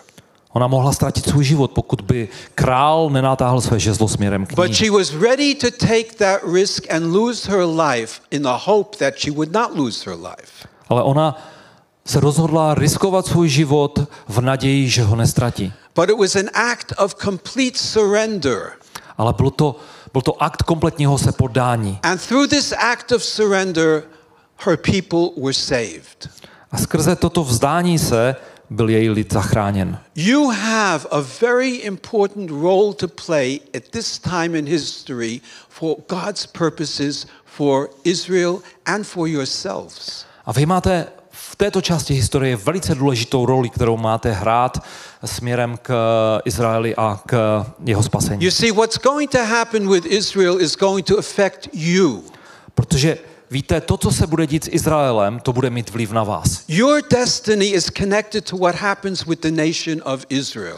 Ona mohla ztratit svůj život, pokud by král nenatáhl své žezlo směrem k But ní. she was ready to take that risk and lose her life in the hope that she would not lose her life. Ale ona se rozhodla riskovat svůj život v naději, že ho nestratí. But it was an act of complete surrender. Ale bylo to, byl to akt kompletního se poddání. And through this act of surrender, her people were saved. A skrze toto vzdání se byl její lid zachráněn. You have a very important role to play at this time in history for God's purposes for Israel and for yourselves. A vy máte v této části historie velice důležitou roli, kterou máte hrát směrem k Izraeli a k jeho spasení. You see, what's going to happen with Israel is going to affect you. Protože víte, to, co se bude dít s Izraelem, to bude mít vliv na vás. Your destiny is connected to what happens with the nation of Israel.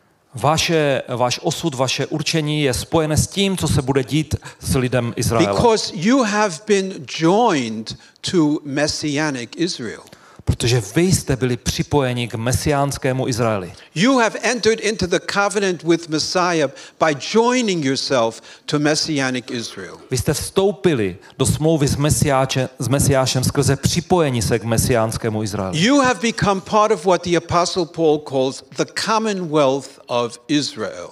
Vaše, váš osud, vaše určení je spojené s tím, co se bude dít s lidem Izraele. Because you have been joined to messianic Israel. Protože vy jste byli připojeni k mesiánskému Izraeli. You have entered into the covenant with Messiah by joining yourself to messianic Israel. Vy jste vstoupili do smlouvy s, Mesiáče, s Mesiášem skrze připojení se k mesiánskému Izraeli. You have become part of what the Apostle Paul calls the commonwealth of Israel.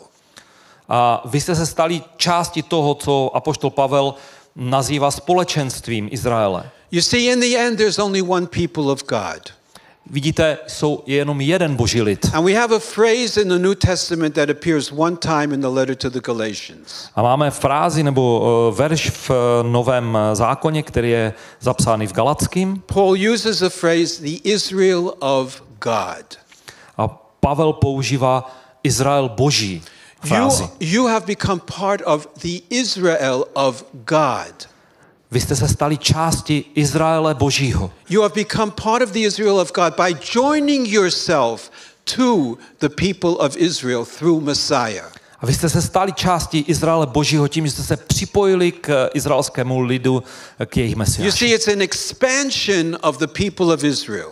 A vy jste se stali částí toho, co apoštol Pavel nazývá společenstvím Izraele. You see, in the end, there's only one people of God. Vidíte, jsou je jenom jeden boží lid. And we have a phrase in the New Testament that appears one time in the letter to the Galatians. A máme frázi nebo uh, verš v uh, Novém zákoně, který je zapsány v Galatským. Paul uses a phrase, the Israel of God. A Pavel používá Izrael boží frázi. You, you have become part of the Israel of God. Vy jste se stali částí Izraele božího. You have become part of the Israel of God by joining yourself to the people of Israel through Messiah. A vy jste se stali částí Izraele božího tím, že jste se připojili k izraelskému lidu, k jejich You mesiáši. see, it's an expansion of the people of Israel.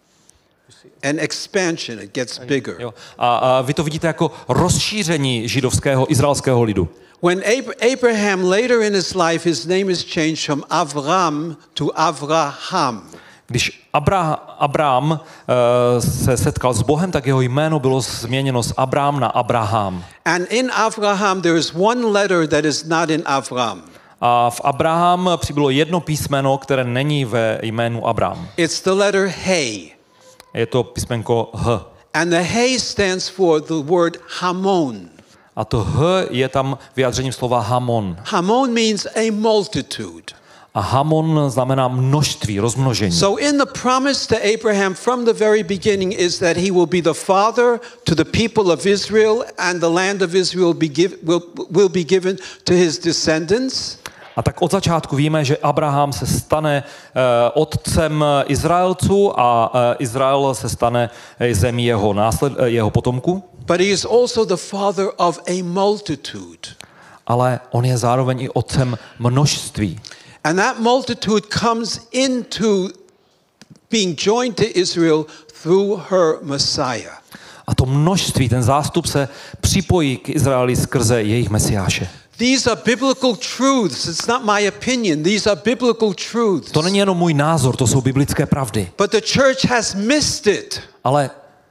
An expansion, it gets bigger. Jo. A, a vy to vidíte jako rozšíření židovského, izraelského lidu. When Abraham later in his life, his name is changed from Avram to Avraham. Když Abra, Abrám uh, se setkal s Bohem, tak jeho jméno bylo změněno z Abrám na Abraham. And in Avraham there is one letter that is not in Avram. A v Abraham přibylo jedno písmeno, které není ve jménu Abrám. It's the letter Hey. Je to písmenko H. And the Hey stands for the word Hamon. A to H je tam vyjádřením slova Hamon. Hamon means a multitude. A Hamon znamená množství, rozmnožení. So in the promise to Abraham from the very beginning is that he will be the father to the people of Israel and the land of Israel be give, will, will be given to his descendants. A tak od začátku víme, že Abraham se stane uh, otcem Izraelců a uh, Izrael se stane zemí jeho, násled, uh, jeho potomků. But he is also the father of a multitude. Ale on je zároveň i otcem množství. And that multitude comes into being joined to Israel through her Messiah. A to množství, ten zástup se připojí k Izraeli skrze jejich mesiáše. These are biblical truths. It's not my opinion. These are biblical truths. To není jenom můj názor, to jsou biblické pravdy. But the church has missed it. Ale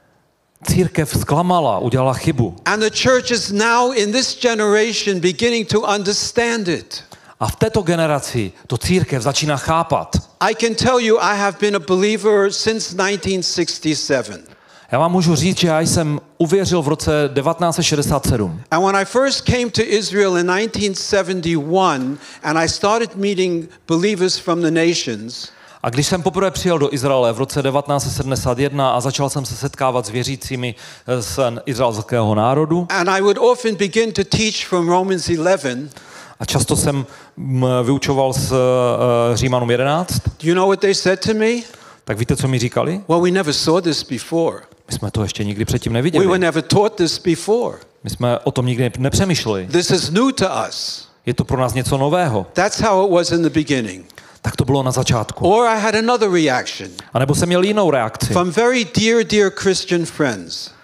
církev zklamala, udělala chybu. And the church is now in this generation beginning to understand it. A v této generaci to církev začíná chápat. I can tell you I have been a believer since nineteen sixty-seven. Já vám můžu říct, že já jsem uvěřil v roce devatenáct set šedesát sedm. And when I first came to Israel in nineteen seventy-one and I started meeting believers from the nations, A když jsem poprvé přijel do Izraele v roce devatenáct set sedmdesát jedna a začal jsem se setkávat s věřícími z izraelského národu, and I would often begin to teach from Romans eleven. a často jsem vyučoval z uh, Římanům jedenáct, Do you know what they said to me? tak víte, co mi říkali? Well, we never saw this before. My jsme to ještě nikdy předtím We were neviděli. never taught this before. My jsme o tom nikdy nepřemýšleli. This is new to us. Je to pro nás něco nového. That's how it was in the beginning. Tak to bylo na začátku. Or I had another reaction A nebo jsem měl jinou reakci from very dear, dear Christian friends.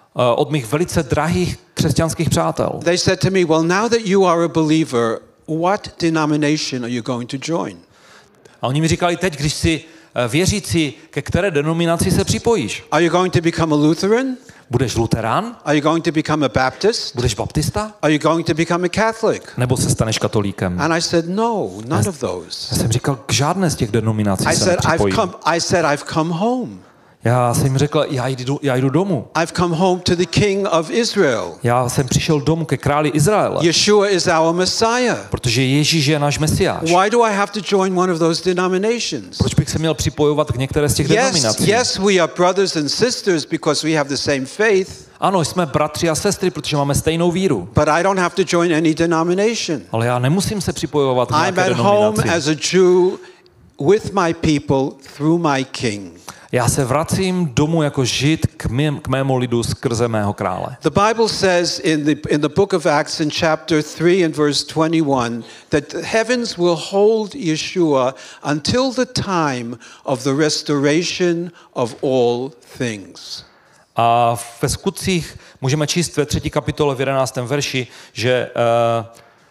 od mých velice drahých křesťanských přátel. They said to me, well, now that you are a believer, what denomination are you going to join? A oni mi říkali, teď, když jsi věřící, ke které denominaci se připojíš? Are you going to become a Lutheran? Budeš luterán? Are you going to become a Baptist? Budeš baptista? Are you going to become a Catholic? Nebo se staneš katolíkem? And I said, no, none of those. Já jsem říkal, k žádné z těch denominací I se said, I've nepřipojím. come, I said, I've come home. Já jsem jim řekl, já jdu, já jdu domů. I've come home to the King of Israel. Já jsem přišel domů ke králi Izraele. Yeshua is our Messiah. Protože Ježíš je náš Mesiáš. Why do I have to join one of those denominations? Proč bych se měl připojovat k některé z těch Yes, denominací? yes, we are brothers and sisters because we have the same faith. Ano, jsme bratři a sestry, protože máme stejnou víru. But I don't have to join any denomination. Ale já nemusím se připojovat k I'm nějaké at home denominaci. as a Jew with my people through my king. Já se vracím domů jako Žid k, mém, k mému lidu skrze mého krále. The Bible says in the in the book of Acts in chapter three and verse twenty-one that the heavens will hold Yeshua until the time of the restoration of all things. A ve skutcích můžeme číst ve třetí kapitole v jedenáctém verši, že uh,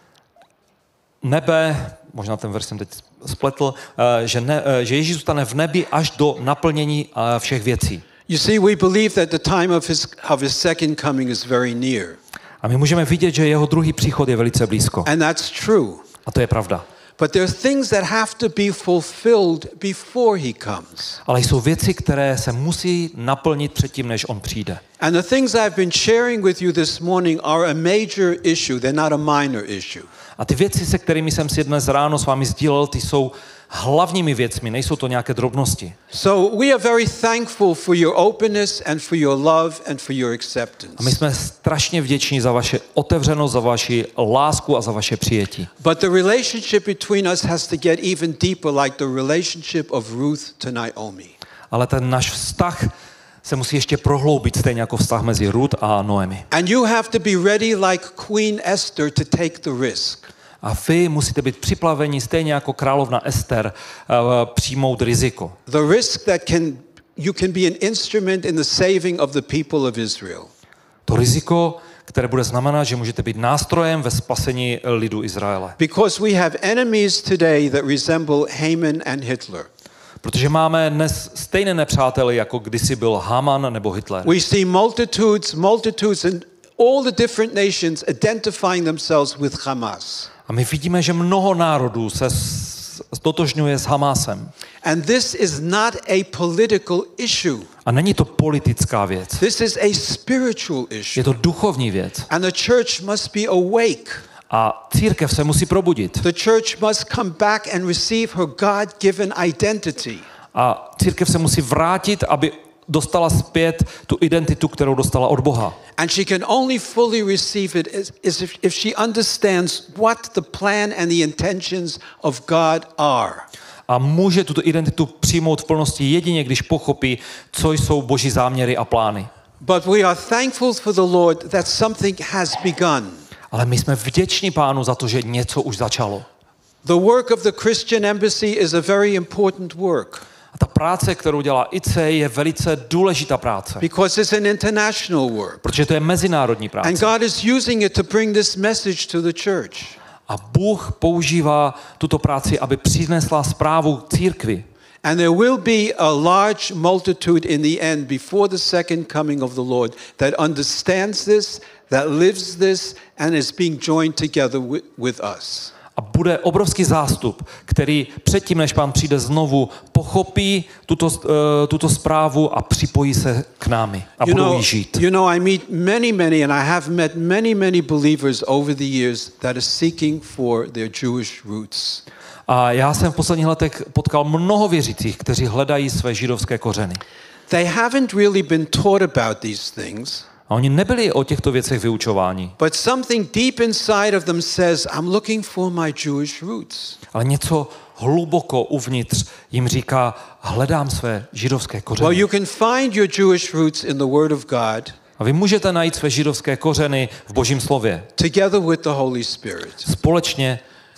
nebe, možná ten verš jsem teď spletl, uh, že, ne, uh, že Ježíš zůstane v nebi až do naplnění uh, všech věcí. You see, we believe that the time of his of his second coming is very near. A my můžeme vidět, že jeho druhý příchod je velice blízko. And that's true. A to je pravda. But there are things that have to be fulfilled before he comes. Ale jsou věci, které se musí naplnit předtím, než on přijde. And the things I've been sharing with you this morning are a major issue. They're not a minor issue. A ty věci, se kterými jsem si dnes ráno s vámi sdílel, ty jsou hlavními věcmi, nejsou to nějaké drobnosti. So we are very thankful for your openness and for your love and for your acceptance. A my jsme strašně vděční za vaše otevřenost, za vaši lásku a za vaše přijetí. But the relationship between us has to get even deeper, like the relationship of Ruth to Naomi. Ale ten náš vztah se musí ještě prohloubit, stejně jako vztah mezi Ruth a Noemi. And you have to be ready like Queen Esther to take the risk. A vy musíte být připraveni, stejně jako královna Ester, uh, přijmout riziko. The risk that can you can be an instrument in the saving of the people of Israel. To riziko, které bude znamenat, že můžete být nástrojem ve spasení lidu Izraele. Because we have enemies today that resemble Haman and Hitler. Protože máme dnes stejné nepřáteli, jako kdysi byl Haman nebo Hitler. We see multitudes, multitudes in all the different nations identifying themselves with Hamas. A my vidíme, že mnoho národů se stotožňuje s Hamásem. And this is not a political issue. A není to politická věc. This is a spiritual issue. Je to duchovní věc. And the church must be awake. A církev se musí probudit. The church must come back and receive her God-given identity. A církev se musí vrátit, aby dostala zpět tu identitu, kterou dostala od Boha. And she can only fully receive it is, is if, if she understands what the plan and the intentions of God are. A může tuto identitu přijmout v plnosti jedině, když pochopí, co jsou Boží záměry a plány. But we are thankful for the Lord that something has begun. Ale my jsme vděční Pánu za to, že něco už začalo. The work of the Christian Embassy is a very important work. A ta práce, kterou dělá I C, je velice důležitá práce. Because it's an international work. Protože to je mezinárodní práce. And God is using it to bring this message to the church. A Bůh používá tuto práci, aby přinesla zprávu církvi. And there will be a large multitude in the end before the second coming of the Lord that understands this, that lives this, and is being joined together with, with us. A bude obrovský zástup, který předtím, než Pán přijde znovu, pochopí tuto, uh, tuto zprávu a připojí se k námi a You budou know, jí žít. you know, I meet many, many, and I have met many, many believers over the years that are seeking for their Jewish roots. A já jsem v posledních letech potkal mnoho věřících, kteří hledají své židovské kořeny. They haven't really been taught about these things. A oni nebyli o těchto věcech vyučováni. But something deep inside of them says, I'm looking for my Jewish roots. Ale něco hluboko uvnitř jim říká, hledám své židovské kořeny. Well, you can find your Jewish roots in the Word of God. A vy můžete najít své židovské kořeny v Božím slově. Together with the Holy Spirit. Společně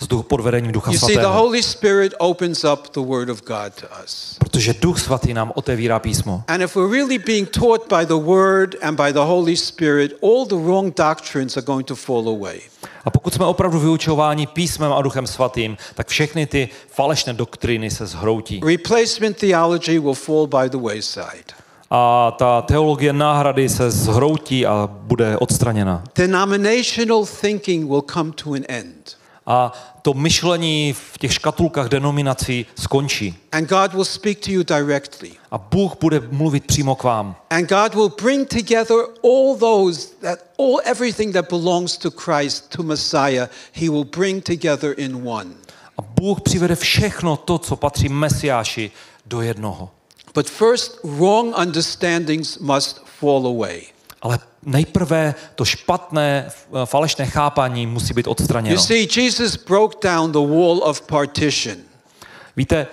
z duch, pod vedením Ducha You see, the Svatého. Holy Spirit opens up the Word of God to us. Protože Duch Svatý nám otevírá písmo. And if we're really being taught by the Word and by the Holy Spirit, all the wrong doctrines are going to fall away. A pokud jsme opravdu vyučováni písmem a Duchem Svatým, tak všechny ty falešné doktriny se zhroutí. Replacement theology will fall by the wayside. A ta teologie náhrady se zhroutí a bude odstraněna. Denominational thinking will come to an end. A to myšlení v těch škatulkách denominací skončí. And God will speak to you directly. A Bůh bude mluvit přímo k vám. And God will bring together all those that all everything that belongs to Christ, to Messiah, he will bring together in one. A Bůh přivede všechno to, co patří Mesiáši, do jednoho. But first, wrong understandings must fall away. Ale nejprve to špatné, falešné chápání musí být You odstraněno. see, Jesus broke down the wall of partition. Víte,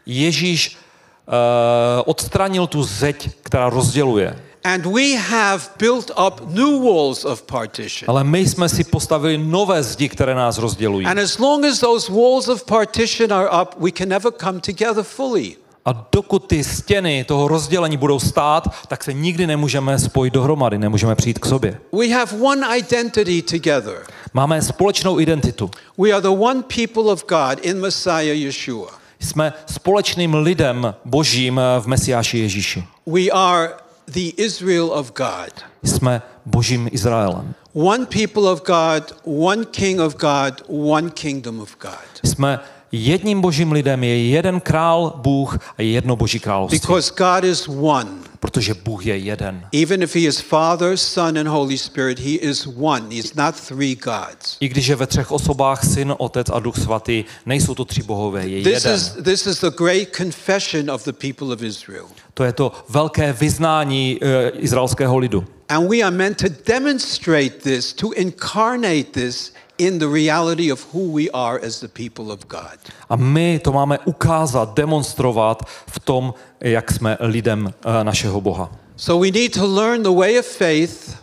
Ježíš uh, odstranil tu zeď, která rozděluje. And we have built up new walls of partition. Ale my jsme si postavili nové zdi, které nás rozdělují. And as long as those walls of partition are up, we can never come together fully. A dokud ty stěny toho rozdělení budou stát, tak se nikdy nemůžeme spojit dohromady, nemůžeme přijít k sobě. We have one identity together. Máme společnou identitu. We are the one people of God in Messiah Yeshua. Jsme společným lidem Božím v Mesiáši Ježíši. We are the Israel of God. Jsme Božím Izraelem. One people of God, one king of God, one kingdom of God. Jsme jedním Božím lidem, je jeden král Bůh a jedno Boží království. Because God is one. Protože Bůh je jeden. Even if he is Father, Son and Holy Spirit, he is one. He is not three gods. I když je ve třech osobách Syn, Otec a Duch Svatý, nejsou to tři bohové, je This jeden. is, this is the great confession of the people of Israel. To je to velké vyznání uh, izraelského lidu. And we are meant to demonstrate this, to incarnate this in the reality of who we are as the people of God. A my to máme ukázat, demonstrovat v tom, jak jsme lidem uh, našeho Boha. So we need to learn the way of faith.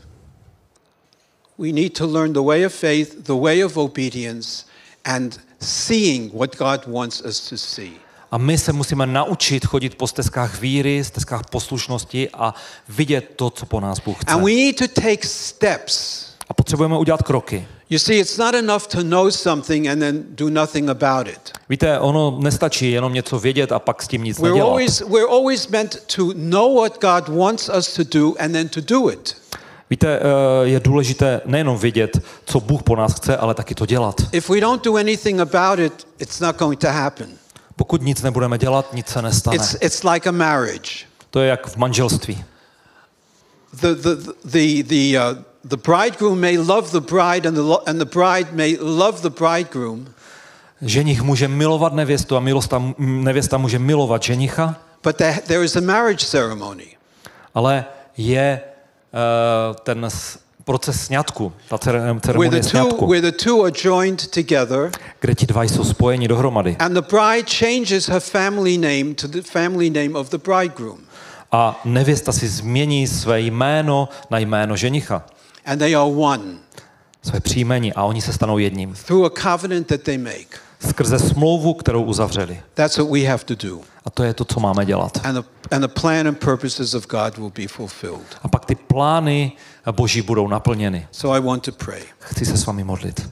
We need to learn the way of faith, the way of obedience, and seeing what God wants us to see. A my se musíme naučit chodit po stezkách víry, stezkách poslušnosti a vidět to, co po nás Bůh chce. And we need to take steps. A potřebujeme udělat kroky. You see, it's not enough to know something and then do nothing about it. Víte, ono nestačí jenom něco vědět a pak s tím nic We're nedělat. always, we're always meant to know what God wants us to do and then to do it. Víte, je důležité nejenom vědět, co Bůh po nás chce, ale taky to dělat. If we don't do anything about it, it's not going to happen. Pokud nic nebudeme dělat, nic se nestane. It's, it's like a marriage. To je jak v manželství. The, the, the, the, uh, the bridegroom may love the bride and the, lo- and the bride may love the bridegroom, Ženich může milovat nevěstu a milosta, nevěsta může milovat ženicha, but there, there is a marriage ceremony. ale je uh, ten s- proces sňatku, ta cer- Where ceremonie the, two, sňatku, where the two are joined together, kde ti dva jsou spojeni dohromady. and the bride changes her family name to the family name of the bridegroom. A nevěsta si změní své jméno na jméno ženicha, And they are one své příjmení a oni se stanou jedním. through a covenant that they make. Skrze smlouvu, kterou uzavřeli. That's what we have to do. A to je to, co máme dělat. And the, and the plan and purposes of God will be fulfilled. A pak ty plány Boží budou naplněny. So I want to pray. Chci se s vámi modlit.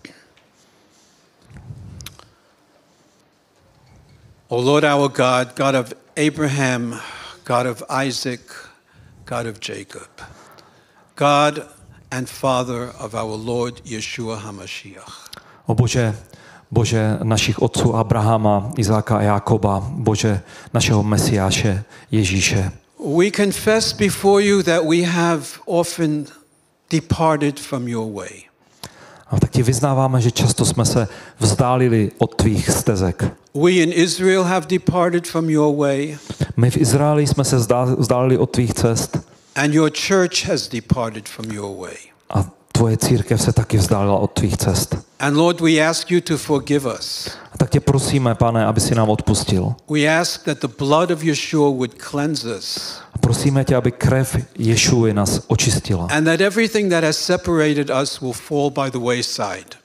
O Lord our God, God of Abraham, God of Isaac, God of Jacob, God and Father of our Lord Yeshua HaMashiach. O Bože, Bože našich otců Abrahama, Izáka a Jákoba, Bože našeho Mesiáše Ježíše. We confess before you that we have often departed from your way. A tak ti vyznáváme, že často jsme se vzdálili od tvých stezek. We in Israel have departed from your way, My v Izraeli jsme se vzdá- vzdálili od tvých cest and your church has departed from your way. a tvoje církev se taky vzdálila od tvých cest. And Lord, we ask you to forgive us. A tak tě prosíme, Pane, aby si nám odpustil. We ask that the blood of Yeshua would cleanse us, A prosíme tě, aby krev Ješuji nás očistila. and that everything that has separated us will fall by the wayside.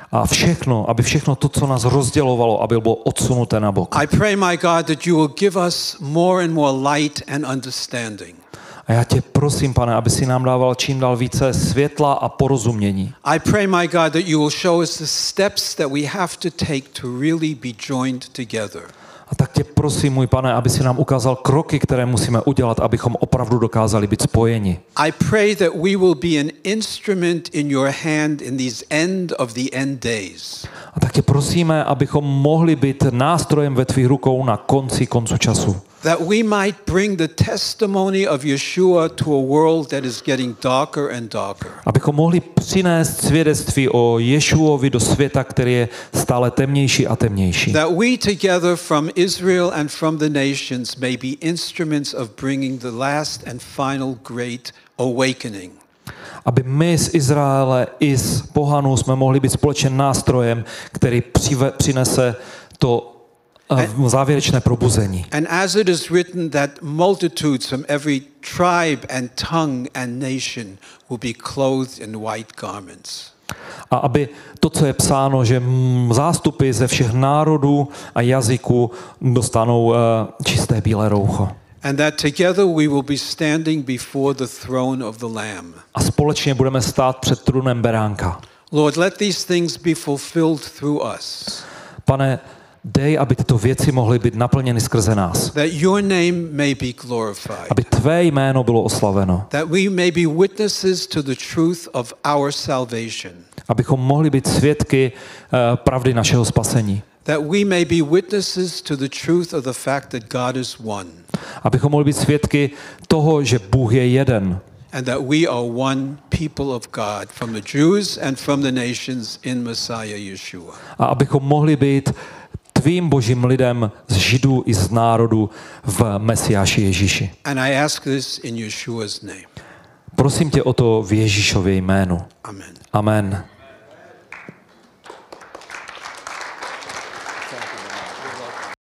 A všechno, aby všechno to, co nás rozdělovalo, aby bylo odsunuté na bok. I pray, my God, that you will give us more and more light and understanding. A já tě prosím, Pane, aby si nám dával čím dál více světla a porozumění. I pray, my God, that you will show us the steps that we have to take to really be joined together. A tak tě prosím, můj Pane, aby si nám ukázal kroky, které musíme udělat, abychom opravdu dokázali být spojeni. I pray that we will be an instrument in your hand in these end of the end days. A tak tě prosíme, abychom mohli být nástrojem ve tvých rukou na konci koncu času. That we might bring the testimony of Yeshua to a world that is getting darker and darker. Abychom mohli přinést svědectví o Ješuovi do světa, který je stále temnější a temnější. That we together from Israel and from the nations may be instruments of bringing the last and final great awakening. Aby my z Izraele i z pohanů jsme mohli být společným nástrojem, který přive, přinese to uh, závěrečné probuzení. And as it is written that multitudes from every tribe and tongue and nation will be clothed in white garments. A aby to, co je psáno, že zástupy ze všech národů a jazyků dostanou uh, čisté bílé roucho. And that together we will be standing before the throne of the Lamb. A společně budeme stát před trůnem beránka. Lord, let these things be fulfilled through us. Pane, dej, aby tyto věci mohly být naplněny skrze nás. That your name may be glorified. Aby tvé jméno bylo oslaveno. That we may be witnesses to the truth of our salvation. Abychom mohli být svědky uh, pravdy našeho spasení. That we may be witnesses to the truth of the fact that God is one. Abychom mohli být svědky toho, že Bůh je jeden. And that we are one people of God from the Jews and from the nations in Messiah Yeshua. A abychom mohli být tvým božím lidem z Židů i z národu v Mesiáši Ježíši. And I ask this in Yeshua's name. Prosím tě o to v Ježíšově jménu. Amen. Amen.